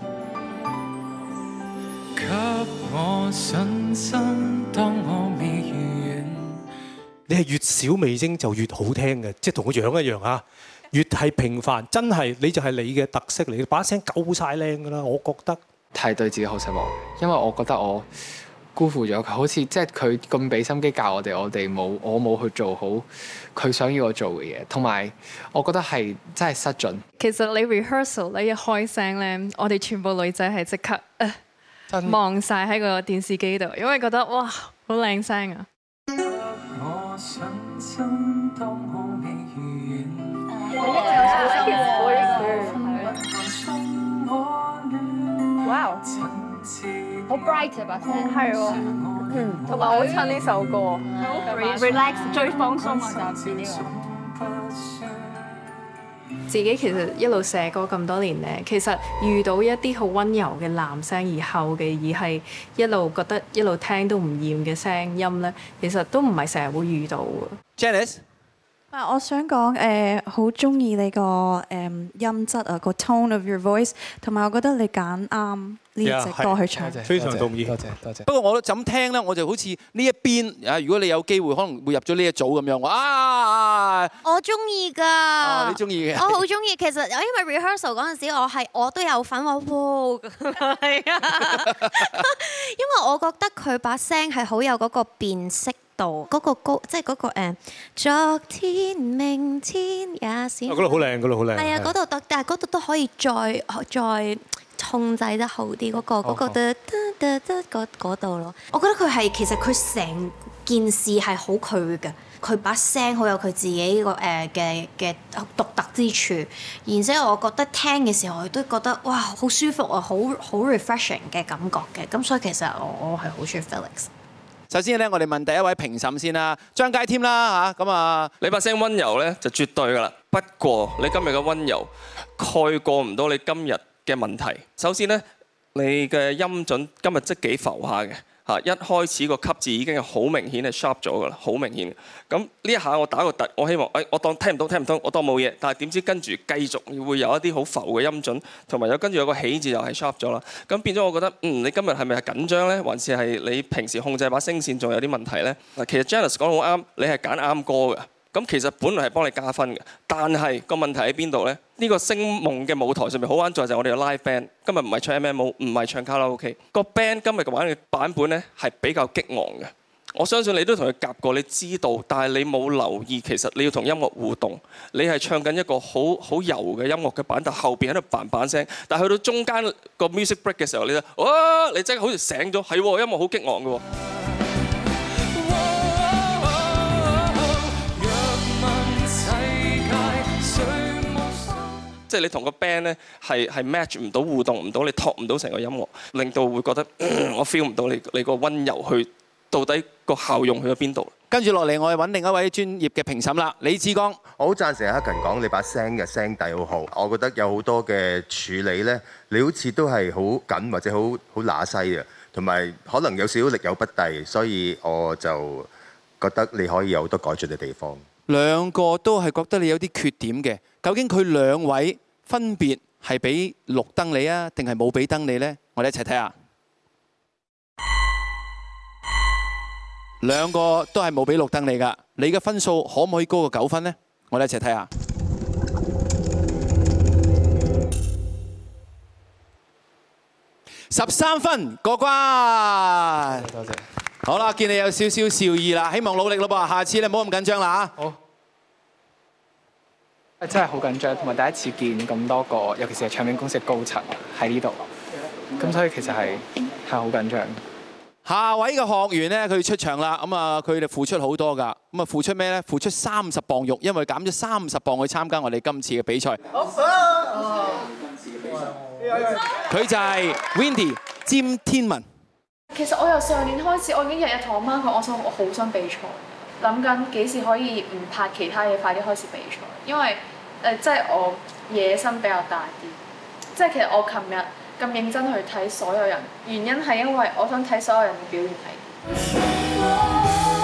給我信心，當我未如願。 你係越少味精就越好聽嘅，即係同個樣一樣啊！越係平凡，真係你就係你嘅特色嚟，把聲夠晒靚㗎啦，我覺得。 係對自己好失望，因為我覺得我辜負咗佢，好似即係佢咁俾心機教我哋，我哋冇我冇去做好佢想要我做嘅嘢，同埋我覺得係真係失準。 其實你 rehearsal 你一開聲咧，我哋全部女仔係即刻望晒喺個電視機度，因為覺得哇好靚聲啊！ 我信心當我未如願。 哇！好 bright 啊把聲，係喎，嗯，同埋好襯呢首歌，好 relax 最放鬆啊！就係呢個。 自己其實一路寫歌咁多年咧，其實遇到一啲好溫柔嘅男聲而後嘅，而係一路覺得一路聽都唔厭嘅聲音咧，其實都唔係成日會遇到嘅。 Janice。 啊，我想講誒，好中意你個誒音質啊，個 tone of your voice， 同埋我覺得你揀啱呢隻歌去唱， 非常同意， 多謝多謝。 不過我都就咁聽咧，我就好似呢一邊啊，如果你有機會可能會入咗呢一組咁樣，啊！ 我中意㗎， 哦，你中意嘅， 我好中意。其實因為 rehearsal 嗰陣時，我係我都有份話哇，係啊，因為我覺得佢把聲係好有嗰個辨識。嗰、那個高，即係嗰個誒，昨天、明天也是。 嗰度好靚，嗰度好靚。 係啊，嗰度得，但係嗰度都可以再再控制得好啲，嗰、那個嗰、那個得得得得嗰度咯。我覺得佢係其實佢成件事係好佢嘅，佢把聲好有佢自己個誒嘅嘅獨特之處。然之後我覺得聽嘅時候，我都覺得哇好舒服啊，好好 refreshing 嘅感覺嘅。咁所以其實我我係好中意 Felix。 首先咧，我哋問第一位評審先啦，張佳添啦嚇，咁啊， 你把聲溫柔咧就絕對噶啦。不過你今日嘅溫柔蓋過唔到你今日嘅問題。首先咧，你嘅音準今日即幾浮下嘅嚇，一開始個級字已經係好明顯係 sharp 咗噶啦，好明顯。咁呢一下我打個突，我希望誒我當聽唔到聽唔到，我當冇嘢。但係點知跟住繼續會有一啲好浮嘅音準，同埋有跟住有個起字又係 sharp 咗啦。咁變咗我覺得，嗯，你今日係咪係緊張咧，還是係你平時控制把聲線仲有啲問題咧？嗱，其實 Janice 講得好啱，你係揀啱歌嘅。咁其實本來係幫你加分嘅，但係個問題喺邊度咧？呢個星夢嘅舞台上面好玩在就係我哋嘅 live band，今日唔係唱 M M O， 唔係唱卡拉 OK。個 band 今日嘅玩嘅版本咧係比較激昂嘅。我相信你都同佢夾過，你知道，但係你冇留意，其實你要同音樂互動。你係唱緊一個好好柔嘅音樂嘅版，但後邊喺度扮扮聲。但係去到中間個 music break 嘅時候，你就哇！你真係好似醒咗，係喎，音樂好激昂嘅喎。即係你同個 band 咧係係 match 唔到，互動唔到，你托唔到成個音樂，令到會覺得、嗯、我 feel 唔到你你個溫柔去到底個效用去咗邊度。 跟住落嚟，我哋揾另一位專業嘅評審啦，李志剛。 我好贊成阿克勤講，你把聲嘅聲底好好。我覺得有好多嘅處理咧，你好似都係好緊或者好好乸西啊，同埋可能有少少力有不逮，所以我就覺得你可以有好多改進嘅地方。 兩個都係覺得你有啲缺點嘅，究竟佢兩位分別係俾綠燈你啊，定係冇俾燈你呢？我哋一齊睇下。兩個都係冇俾綠燈你㗎，你嘅分數可唔可以高過九分呢？我哋一齊睇下。十三分過關。 多謝。 好啦，見你有少少笑意啦，希望努力咯噃，下次你唔好咁緊張啦嚇。好。 真係好緊張，同埋第一次見咁多個，尤其是係唱片公司嘅高層喺呢度，咁所以其實係係好緊張。 下位嘅學員咧，佢出場啦，咁啊佢哋付出好多㗎，咁啊付出咩咧？付出三十磅肉，因為減咗三十磅去參加我哋今次嘅比賽。佢就係 Windy 詹天文。 其實我由上年開始，我已經日日同我媽講，我想我好想比賽，諗緊幾時可以唔拍其他嘢，快啲開始比賽。因為誒、呃，即係我野心比較大啲。即係其實我琴日咁認真去睇所有人，原因係因為我想睇所有人嘅表現係。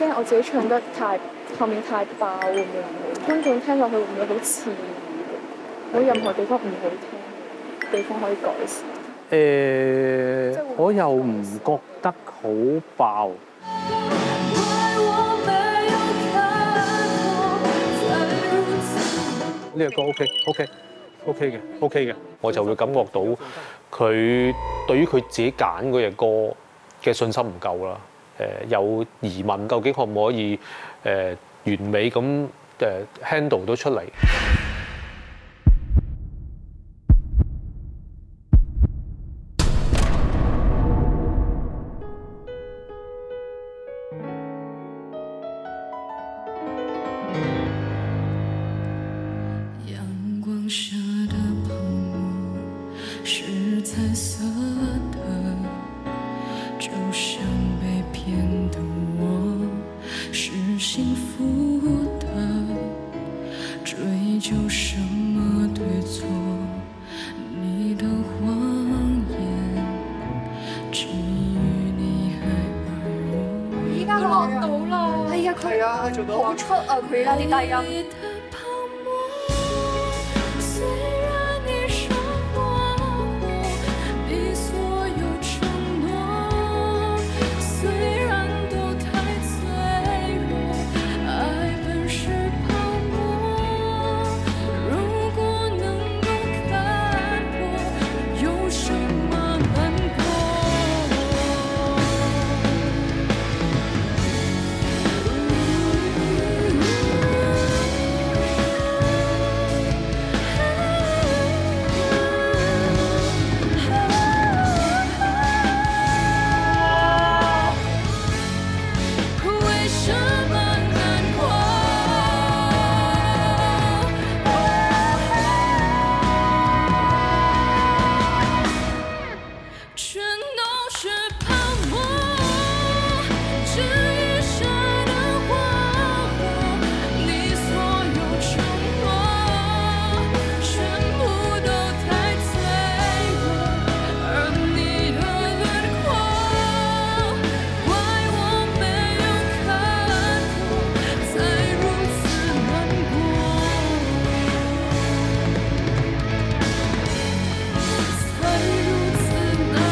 驚我自己唱得太後面太爆會唔會觀眾聽落去會唔會好刺耳？冇任何地方唔好聽，地方可以改善。 誒、我又唔覺得好爆。呢個歌 OK OK OK 嘅 OK 嘅，我就會感覺到佢對於佢自己揀嗰隻歌嘅信心唔夠啦。誒、有疑問，究竟可唔可以誒、完美咁誒 handle 到出嚟？ 阳光下的泡沫是彩色的，就像被骗的我是幸福的，追究什么对错？你的谎言，至于你还爱我。 依家佢落到啦，係啊，佢啊，做到好出啊，佢而家啲低音。 虽然你伤过我，你所有承诺，虽然都太脆弱，爱本是泡沫。如果能够看破，有什么难过？为什么难过？全都是泡沫，至于谁的花火，你所有承诺，全部都太脆弱，而你的轮廓，怪我没有看破，才如此难过，才如此难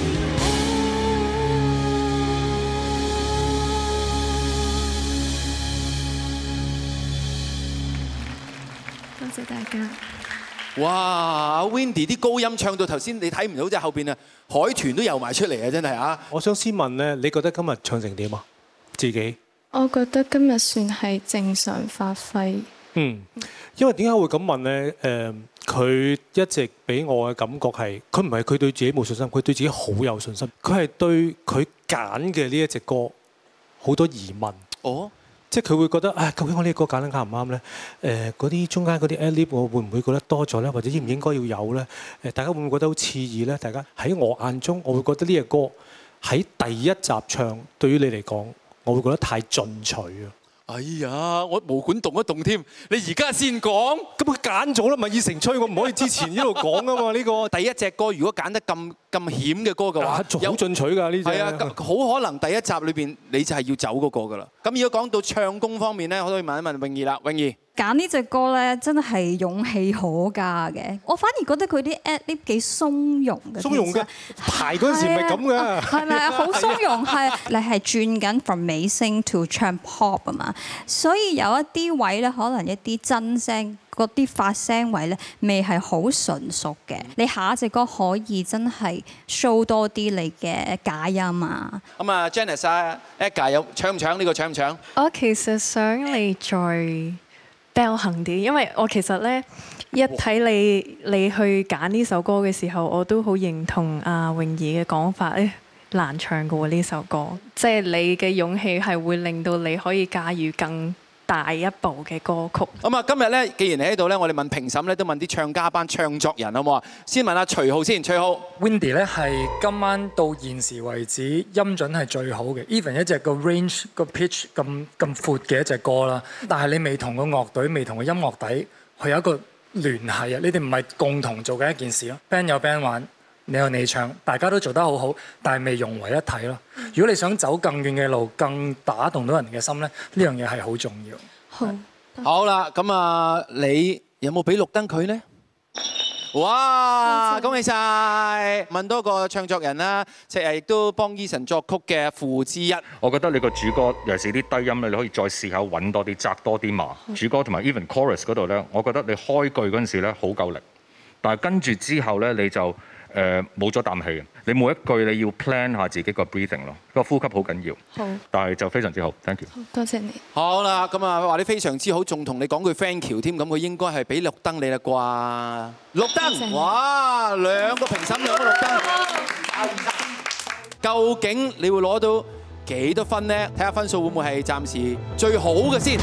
多謝大家。 哇！Wendy 啲高音唱到頭先，你睇唔到啫，後邊啊海豚都游埋出嚟啊！真係啊！ 我想先問咧，你覺得今日唱成點啊？自己？ 我覺得今日算係正常發揮。 嗯，因為點解會咁問咧？誒、佢一直俾我嘅感覺係，佢唔係佢對自己冇信心，佢對自己好有信心。佢係對佢揀嘅呢一隻歌好多疑問。 哦， 即係佢會覺得啊，究竟我呢個歌揀得啱唔啱咧？誒、嗰啲中間嗰啲 ad-lib 我會唔會覺得多咗咧？或者應唔應該要有咧？誒，大家會唔會覺得好刺耳咧？大家喺我眼中，我會覺得呢隻歌喺第一集唱，對於你嚟講，我會覺得太進取啊！ 哎呀，我毛管動一動添，你而家先講， 咁佢揀咗啦，咪以成吹，我唔可以之前呢度講啊嘛。呢個第一隻歌如果揀得咁咁險嘅歌嘅話， 好進取㗎呢隻。 係啊，好可能第一集裏邊你就係要走嗰個㗎啦。咁如果講到唱功方面咧，我都可以問一問泳兒啦，泳兒。 揀呢隻歌咧，真係勇氣可嘉嘅。我反而覺得佢啲 ad-lib 幾鬆容嘅。 鬆容嘅排嗰陣時唔係咁嘅。 係咪啊？好鬆容係你係轉緊 from 美聲 to 唱 pop 啊嘛，所以有一啲位咧，可能一啲真聲嗰啲發聲位咧，未係好純熟嘅。你下一隻歌可以真係 show 多啲你嘅假音啊。 咁啊 ，Janice 啊 ，Edgar 有搶唔搶呢個搶唔搶？ 我其實想你再比較行啲，因為我其實咧一睇你你去揀呢首歌嘅時候，我都好認同阿泳兒嘅講法，誒難唱嘅喎呢首歌，即係你嘅勇氣係會令到你可以駕馭更大一部嘅歌曲。 咁啊，今日咧，既然你喺度咧，我哋問評審咧，都問啲唱家班唱作人好唔好啊？先問阿徐浩先，徐浩。 Wendy 咧係今晚到現時為止音準係最好嘅 ，even 一隻個 range 個 pitch 咁咁闊嘅一隻歌啦。但係你未同個樂隊，未同個音樂底，佢有一個聯繫啊！你哋唔係共同做嘅一件事咯。band 有 band 玩你有你唱，大家都做得好好，但係未融為一體咯。如果你想走更遠嘅路，更打動到人嘅心咧，呢樣嘢係好重要。 好，好啦，咁啊，你有冇俾綠燈佢呢？哇！恭喜晒！問多個唱作人啦，即係亦都幫 Eason 作曲嘅傅之一。 我覺得你個主歌尤其是啲低音咧，你可以再試下揾多啲，紮多啲麻。主歌同埋 even chorus 嗰度咧，我覺得你開句嗰陣時咧好夠力，但係跟住之後咧你就誒冇咗啖氣。你每一句你要 plan 下自己個 breathing 咯，個呼吸好緊要。 好， 但係就非常之好 ，thank you。 多謝你。 好啦，咁啊話你非常之好，仲同你講句 thank you 添，咁佢應該係俾綠燈你啦啩？綠燈，哇！兩個評審，兩個綠燈。究竟你會攞到幾多分呢？睇下分數會唔會係暫時最好嘅先。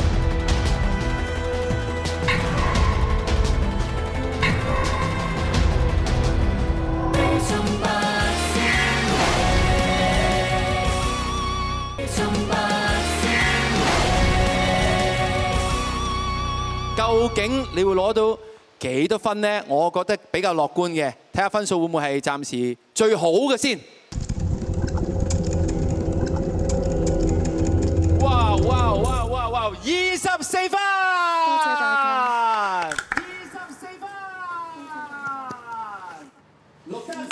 究竟你會攞到幾多分呢？我覺得比較樂觀嘅，睇下分數會唔會係暫時最好嘅先。哇哇哇哇哇！二十四分！多謝大家。二十四分。六分。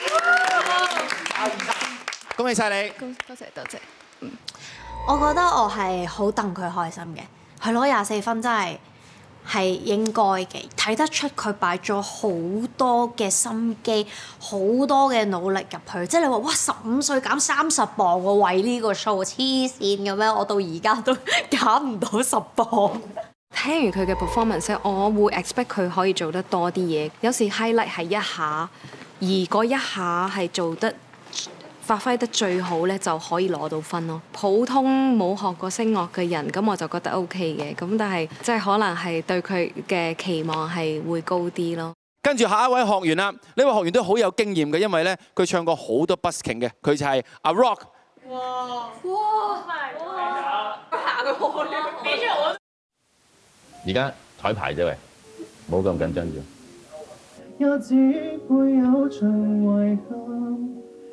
恭喜晒你！ 多謝多謝。 嗯，我覺得我係好戥佢開心嘅，佢攞廿四分真係。係應該嘅，睇得出佢擺咗好多嘅心機，好多嘅努力入去。即係你話哇，十五歲減三十磅喎，為呢個 show 黐線嘅咩？我到而家都減唔到十磅。 聽完佢嘅 performance，我會 expect 佢可以做得多啲嘢。有時 highlight 係一下，而嗰一下係做得發揮得最好咧，就可以攞到分咯。普通冇學過聲樂嘅人，咁我就覺得 OK 嘅。咁但係即係可能係對佢嘅期望係會高啲咯。 跟住下一位學員啦，呢位學員都好有經驗嘅，因為咧佢唱過好多 busking 嘅，佢就係阿 Rock。哇！哇！行佢開，俾咗我。 而家彩排啫喂，冇咁緊張住。 也只會有場遺憾。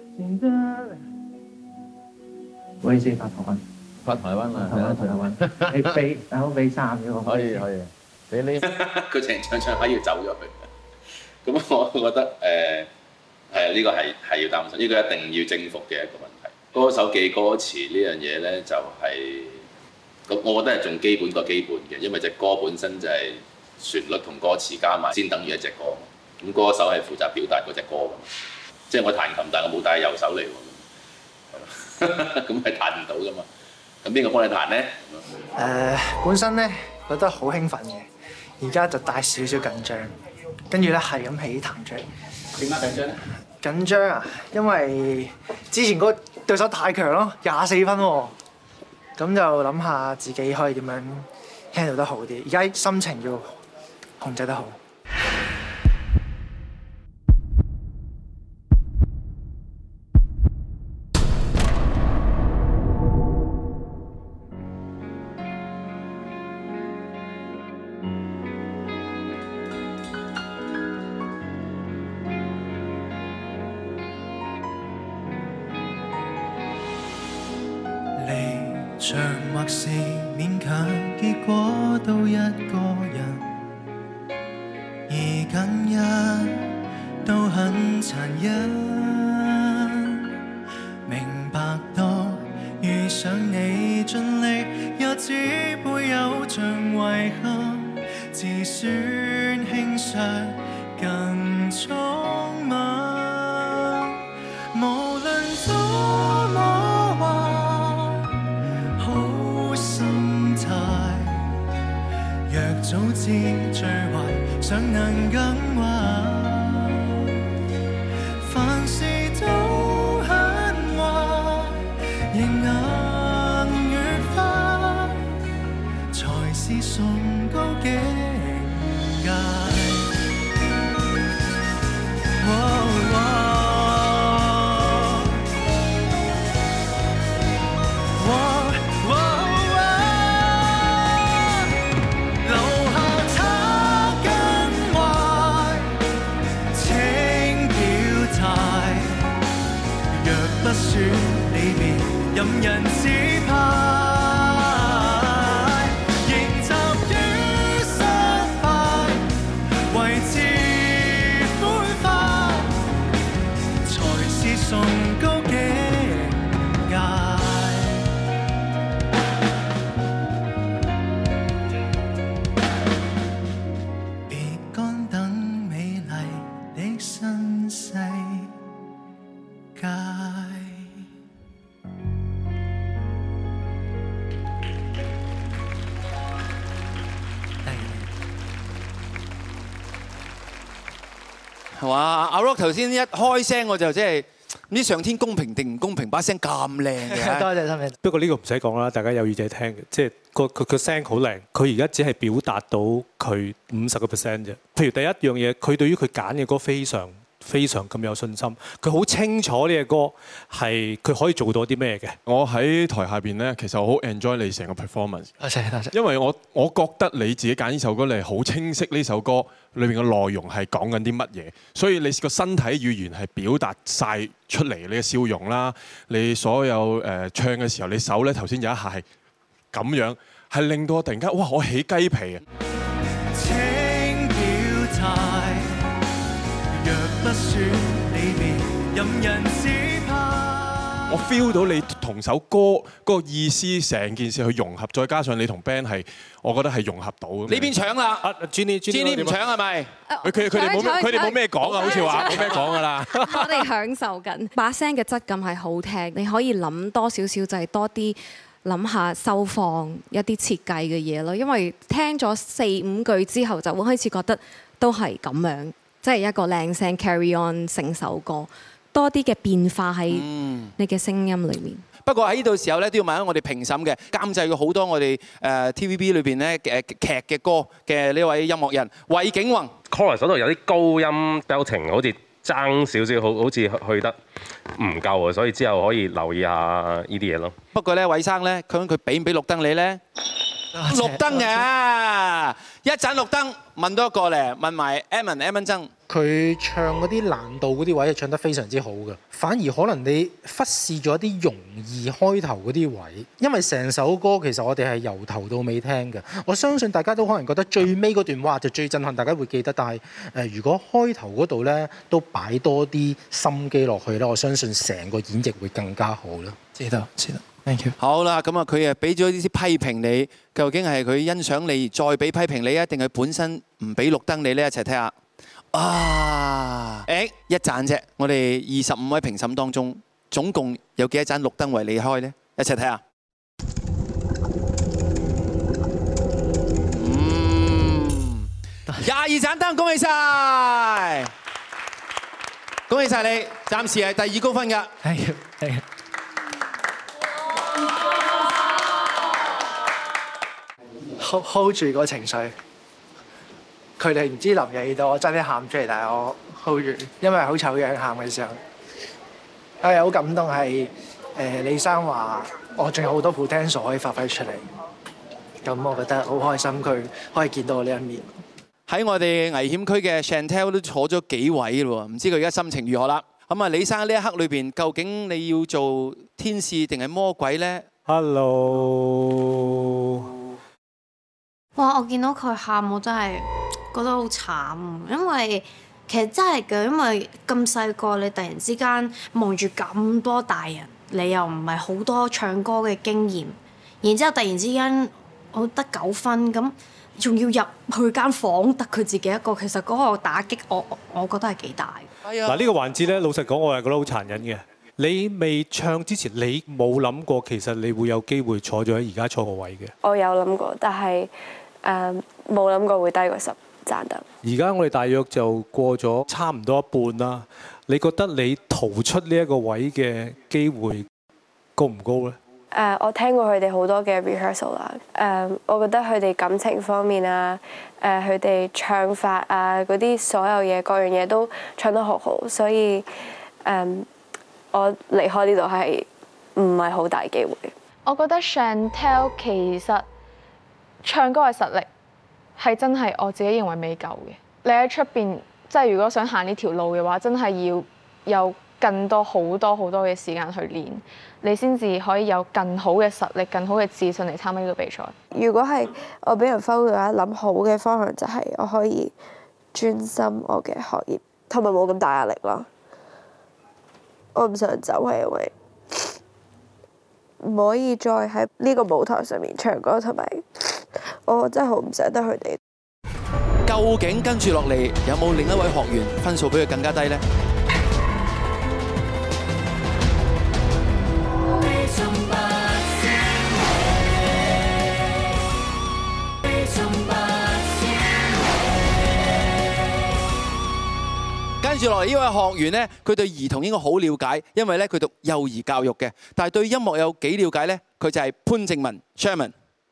唔好意思，發台灣， 發台灣啊， 台灣台灣，你俾大佬俾三嘅可以可以，俾呢佢成唱唱下要走咗去，咁我覺得誒係呢個係係要擔心，呢個一定要征服嘅一個問題。歌手記歌詞呢樣嘢咧就係、是，我覺得係仲基本過基本嘅，因為隻歌本身就係旋律同歌詞加埋先等於一隻歌，咁歌手係負責表達嗰隻歌㗎嘛。即係我彈琴，但係我冇帶右手嚟喎，咁係彈唔到噶嘛。咁邊個幫你彈咧？ 誒、呃，本身咧覺得好興奮嘅，而家就帶少少緊張，跟住咧係咁起彈出嚟。點解緊張咧？緊張啊，因為之前嗰個對手太強咯，廿四分喎，咁就諗下自己可以點樣 handle 得好啲。而家心情要控制得好。 像或是勉強，結果都一個人，而近日都很殘忍。明白到遇上你盡力，也只會有像遺憾，自尊輕率更匆忙。無論多麼壞，好心態，若早知最壞，尚能更壞。凡事都很壞，仍硬與花，才是崇高境界。哦哦留下他更壞， 係嘛？阿 Rock 頭先一開聲我就即係唔知上天公平定唔公平，把聲咁靚嘅。 多謝心。不過呢個唔使講啦，大家有耳仔聽嘅，即係個佢個聲好靚。佢而家只係表達到佢五十個 percent 啫。譬如第一樣嘢，佢對於佢揀嘅歌非常非常咁有信心，佢好清楚呢隻歌係佢可以做到啲咩嘅。 我喺台下邊咧，其實我好 enjoy 你成個 performance。 多謝多謝。 因為我我覺得你自己揀呢首歌，你係好清晰呢首歌裏面嘅內容係講緊啲乜嘢，所以你個身體語言係表達晒出嚟，你嘅笑容啦，你所有誒唱嘅時候，你手咧頭先有一下係咁樣，係令到我突然間哇，我起雞皮啊！ 請表態，若不選離別，任人只怕。 我 feel 到你同首歌嗰個意思，成件事去融合，再加上你同 band 係，我覺得係融合到。 呢邊搶啦！ 啊 Jenny，Jenny 唔搶係咪？ 佢佢佢哋冇佢哋冇咩講啊，好似話冇咩講㗎啦。 我哋享受緊把聲嘅質感係好聽，你可以諗多少少就係多啲諗下收放一啲設計嘅嘢咯。因為聽咗四五句之後，就會開始覺得都係咁樣，即係一個靚聲 carry on 成首歌。多啲嘅變化喺你嘅聲音裏面。 不過喺呢度時候咧，都要問下我哋評審嘅監製過好多我哋誒 T V B 裏邊咧誒劇嘅歌嘅呢位音樂人韋景宏。 chorus 嗰度有啲高音 belting， 好似爭少少，好好似去得唔夠啊，所以之後可以留意下呢啲嘢咯。 不過咧，韋生咧，佢佢俾唔俾綠燈你咧？綠燈嘅，一盞綠燈，問多一個咧，問埋 Evan，Evan 曾。 佢唱嗰啲難度嗰啲位唱得非常之好嘅，反而可能你忽視咗啲容易開頭嗰啲位，因為成首歌其實我哋係由頭到尾聽嘅。我相信大家都可能覺得最尾嗰段哇就最震撼，大家會記得。但係誒、呃，如果開頭嗰度咧都擺多啲心機落去咧，我相信成個演繹會更加好啦。 知道，知道。Thank you。 好啦，咁啊，佢誒俾咗啲批評你，究竟係佢欣賞你再俾批評你啊，定係本身唔俾綠燈你咧？一齊睇下。啊！誒，一盞啫，我哋二十五位評審當中，總共有幾多盞綠燈為你開呢？一齊睇下。嗯，廿二盞燈，恭喜晒！恭喜晒你，暫時係第二高分㗎。 Thank you，thank you。 hold hold 住個情緒。佢哋唔知臨嘢到，我真係喊出嚟，但係我 hold 住，因為好醜樣喊嘅時候，係好感動係誒李生話我仲有好多 potential 可以發揮出嚟，咁我覺得好開心佢可以見到我呢一面。 喺我哋危險區嘅 Chantel 都坐咗幾位咯喎，唔知佢而家心情如何啦。咁啊，李生呢一刻裏邊，究竟你要做天使定係魔鬼咧 ？Hello。 哇！我見到佢喊，我真係覺得好慘，因為其實真係嘅，因為咁細個，你突然之間望住咁多大人，你又唔係好多唱歌嘅經驗，然之後突然之間我得九分，咁仲要入去間房得佢自己一個，其實嗰個打擊我我覺得係幾大。 嗱呢個環節咧，老實講，我係覺得好殘忍嘅。你未唱之前，你冇諗過其實你會有機會坐咗喺而家坐個位嘅。 我有諗過，但係誒冇諗過會低過十盞燈。 而家我哋大約就過咗差唔多一半啦。你覺得你逃出呢一個位嘅機會高唔高咧？ 誒，uh, 我聽過佢哋好多嘅 rehearsal 啦。誒，我覺得佢哋感情方面啊，誒，佢哋唱法啊，嗰啲所有嘢，各樣嘢都唱得好好，所以誒，um, 我離開呢度係唔係好大機會。 我覺得 Chantel 其實唱歌嘅實力係真係我自己認為未夠嘅。你喺出邊，即係如果想行呢條路嘅話，真係要有更多好多好多嘅時間去練，你先至可以有更好嘅實力、更好嘅自信嚟參加呢個比賽。 如果係我俾人 foul 嘅話，諗好嘅方向就係我可以專心我嘅學業，同埋冇咁大壓力咯。我唔想走係因為唔可以再喺呢個舞台上面唱歌，同埋我真係好唔捨得佢哋。 究竟跟住落嚟有冇另一位學員分數比佢更加低呢？ 跟住落嚟呢位學員咧，佢對兒童應該好了解，因為咧佢讀幼兒教育嘅。但係對音樂有幾了解咧？佢就係潘正文 Chairman。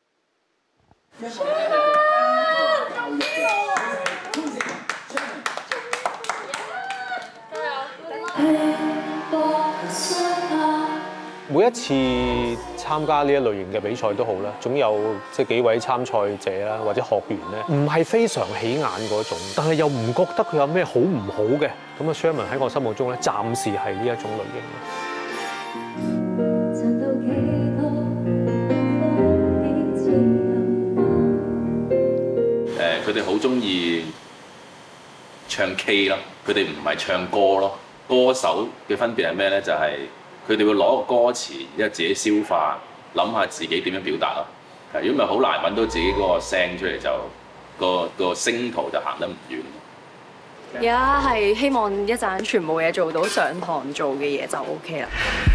每一次參加呢一類型嘅比賽都好啦，總有即係幾位參賽者啦或者學員咧，唔係非常起眼嗰種，但係又唔覺得佢有咩好唔好嘅。咁啊 Sherman 喺我心目中咧，暫時係呢一種類型。誒，佢哋好中意唱 K 咯，佢哋唔係唱歌咯。歌手嘅分別係咩咧？就係、是佢哋會攞個歌詞，然後自己消化，諗下自己點樣表達咯。如果唔係好難揾到自己嗰個聲出嚟，就個個聲途就行得唔遠。 而家係希望一陣全部嘢做到上堂做嘅嘢就 O K 啦。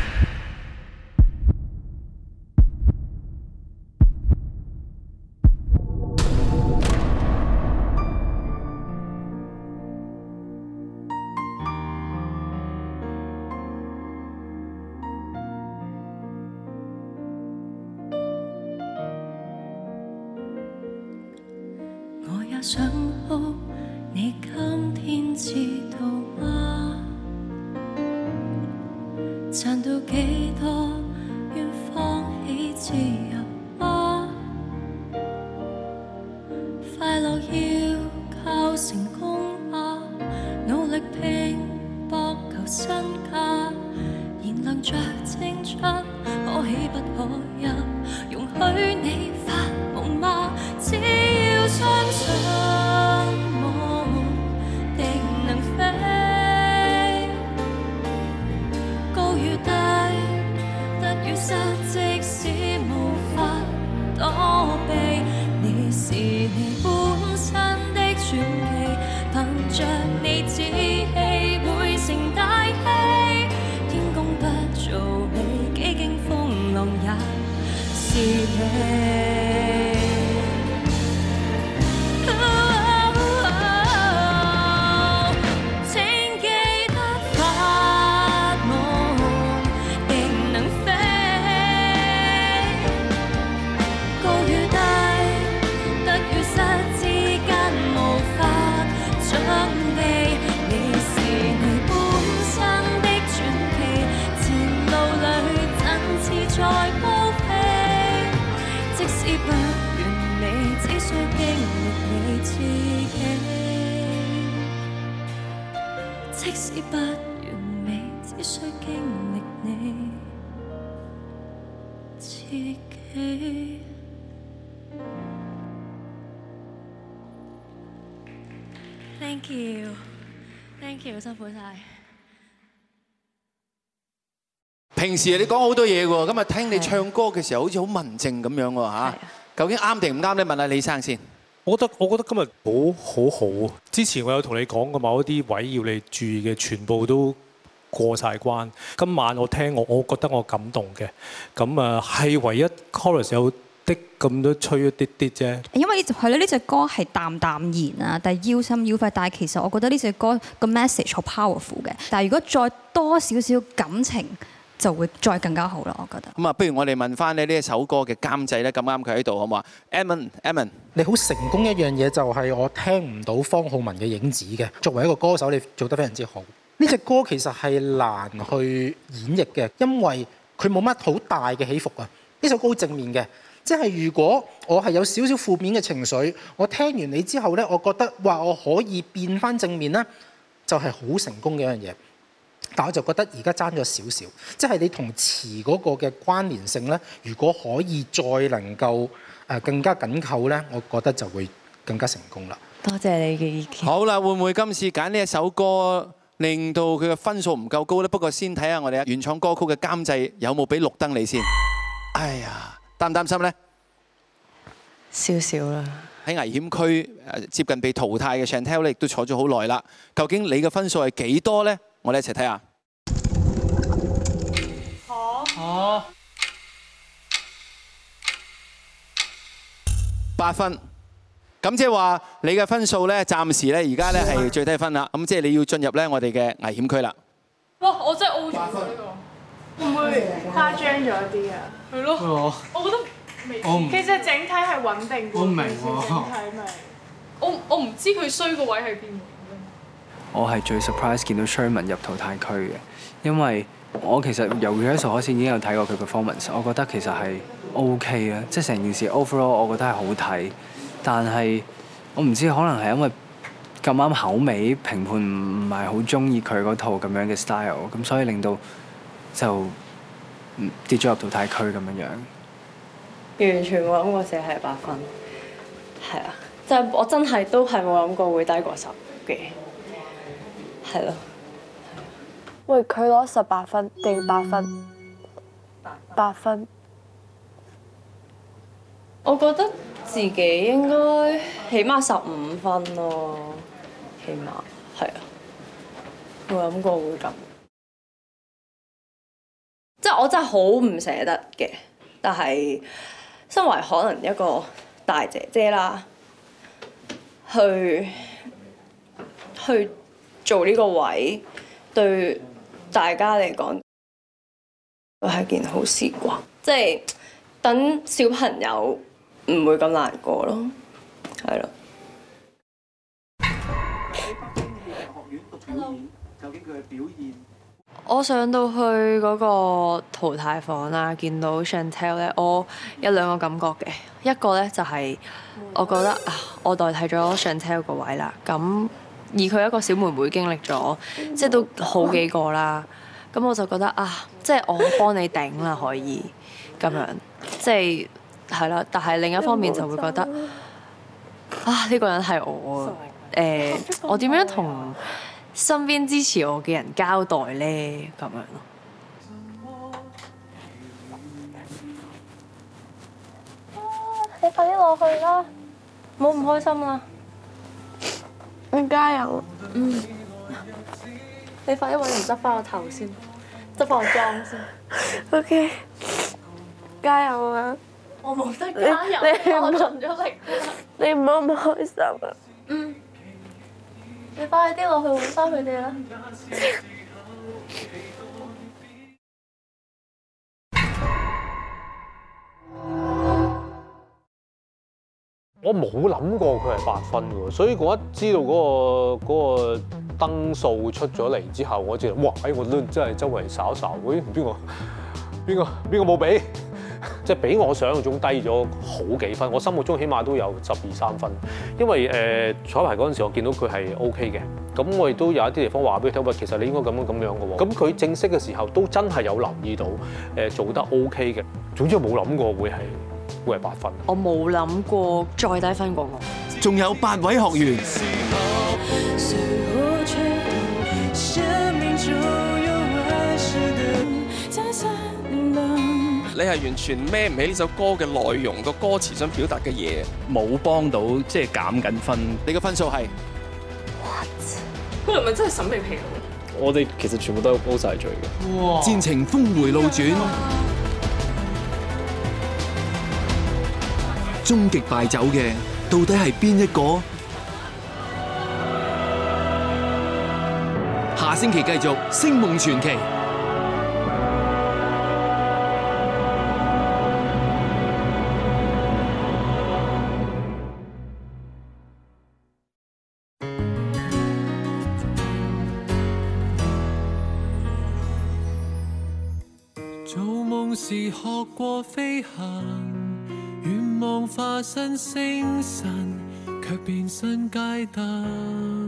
想好你今天知道嗎？賺到幾多願放棄自由嗎？快樂要靠成功嗎？努力拼搏求身價，燃亮着青春，可喜不可泣？容許你發夢嗎？只要相信夢定能飛，高與低，得與失，即使無法躲避，你是你本身的傳奇，憑着你志氣會成大器，天公不造你，幾經風浪也是你。再高飛，即使不完美，只需經歷你自己。即使不完美，只需經歷你自己。Thank you，Thank you，辛苦晒。 平時你講好多嘢喎，今日聽你唱歌嘅時候好似好文靜咁樣喎嚇。究竟啱定唔啱咧？問下李生先。 我覺得我覺得今日好好好。之前我有同你講過某一啲位要你注意嘅，全部都過晒關。今晚我聽我，我覺得我感動嘅。咁啊係唯一 chorus 有啲咁多吹一啲啲啫。 因為係咯，呢隻歌係淡淡然啊，但係腰心腰肺。但係其實我覺得呢隻歌個 message 好 powerful 嘅。但係如果再多少少感情，就會再更加好啦，我覺得。 咁啊，不如我哋問翻咧呢一首歌嘅監製咧，咁啱佢喺度好唔好啊 ？Edmond，Edmond， 你好成功一樣嘢就係我聽唔到方皓玟嘅影子嘅。作為一個歌手，你做得非常之好。呢隻歌其實係難去演繹嘅，因為佢冇乜好大嘅起伏啊。呢首歌好正面嘅，即係如果我係有少少負面嘅情緒，我聽完你之後呢，我覺得哇，我可以變翻正面呢，就係好成功嘅一樣嘢。但我就覺得而家爭咗少少，即係你同詞嗰個嘅關聯性咧，如果可以再能夠誒更加緊扣咧，我覺得就會更加成功啦。 多謝你嘅意見。 好啦，會唔會今次揀呢一首歌令到佢嘅分數唔夠高咧？不過先睇下我哋原創歌曲嘅監製有冇俾綠燈你先。哎呀，擔唔擔心咧？ 少少啦。 喺危險區誒接近被淘汰嘅 Chantel 咧，亦都坐咗好耐啦。究竟你嘅分數係幾多咧？我哋一齊睇下。 好。 八分。 咁即係話你嘅分數咧，暫時咧而家咧係最低分啦。咁即係你要進入咧我哋嘅危險區啦。 哇！我真係 O 咗呢個，會唔會誇張咗啲啊？係咯，我覺得未。其實整體係穩定嘅。我唔明喎。整體咪，我我唔知佢衰個位喺邊。 我係最 surprise 見到 Sherman 入淘汰區嘅，因為我其實由 rehearsal 開始已經有睇過佢 performance， 我覺得其實係 OK 啊，即係成件事 overall 我覺得係好睇，但係我唔知可能係因為咁啱口味評判唔係好中意佢嗰套咁樣嘅 style， 咁所以令到就跌咗入淘汰區咁樣樣。 完全冇諗過寫係八分，係啊，即係我真係都係冇諗過會低過十嘅，係咯。 喂，佢攞十八分定八分？八分。 我覺得自己應該起碼十五分咯，起碼係啊，冇諗過會咁。即係我真係好唔捨得嘅，但係身為可能一個大姐姐啦，去去做呢個位，對大家嚟講都係件好事啩。即係等小朋友唔會咁難過咯，係咯。 究竟佢嘅表現？ 我上到去嗰個淘汰房啦，見到 Chantel 咧，我有兩個感覺嘅。一個咧就係我覺得啊，我代替咗 Chantel 個位啦。咁而佢一個小妹妹經歷咗，即係都好幾個啦。咁我就覺得啊，即係我幫你頂啦，可以咁樣，即係係啦。但係另一方面就會覺得啊，呢個人係我誒，我點樣同身邊支持我嘅人交代咧？咁樣咯。你快啲落去啦，唔好唔開心啦。 你加油。 嗯。你快啲揾人執翻個頭先，執翻個妝先。 O K。加油啊！ 我冇得加油，我盡咗力。 你唔好咁開心啊！ 嗯。你快啲落去揾翻佢哋啦！ 我冇諗過佢係八分嘅喎，所以我一知道嗰、嗰個嗰個燈數出咗嚟之後，我知道哇！哎，我都真係周圍睄一睄，喂，邊個邊個邊個冇俾？即係比我想象中低咗好幾分，我心目中起碼都有十二三分。因為誒、呃、彩排嗰陣時，我見到佢係 O K 嘅，咁我亦都有一啲地方話俾佢聽，喂，其實你應該咁樣咁樣嘅喎。咁佢正式嘅時候都真係有留意到誒、呃、做得 O K 嘅。總之我冇諗過會係會係八分。 我冇諗過再低分過我。 仲有八位學員。 你係完全孭唔起呢首歌嘅內容，個歌詞想表達嘅嘢， 冇幫到，即係減緊分。 你嘅分數係 what？ 佢係咪真係審美疲勞？ 我哋其實全部都係 O 晒罪嘅。 哇！戰情峰迴路轉，終極敗走嘅到底係邊一個？下星期繼續《星夢傳奇》。 時學過飛行，願望化身星辰，卻變身街燈。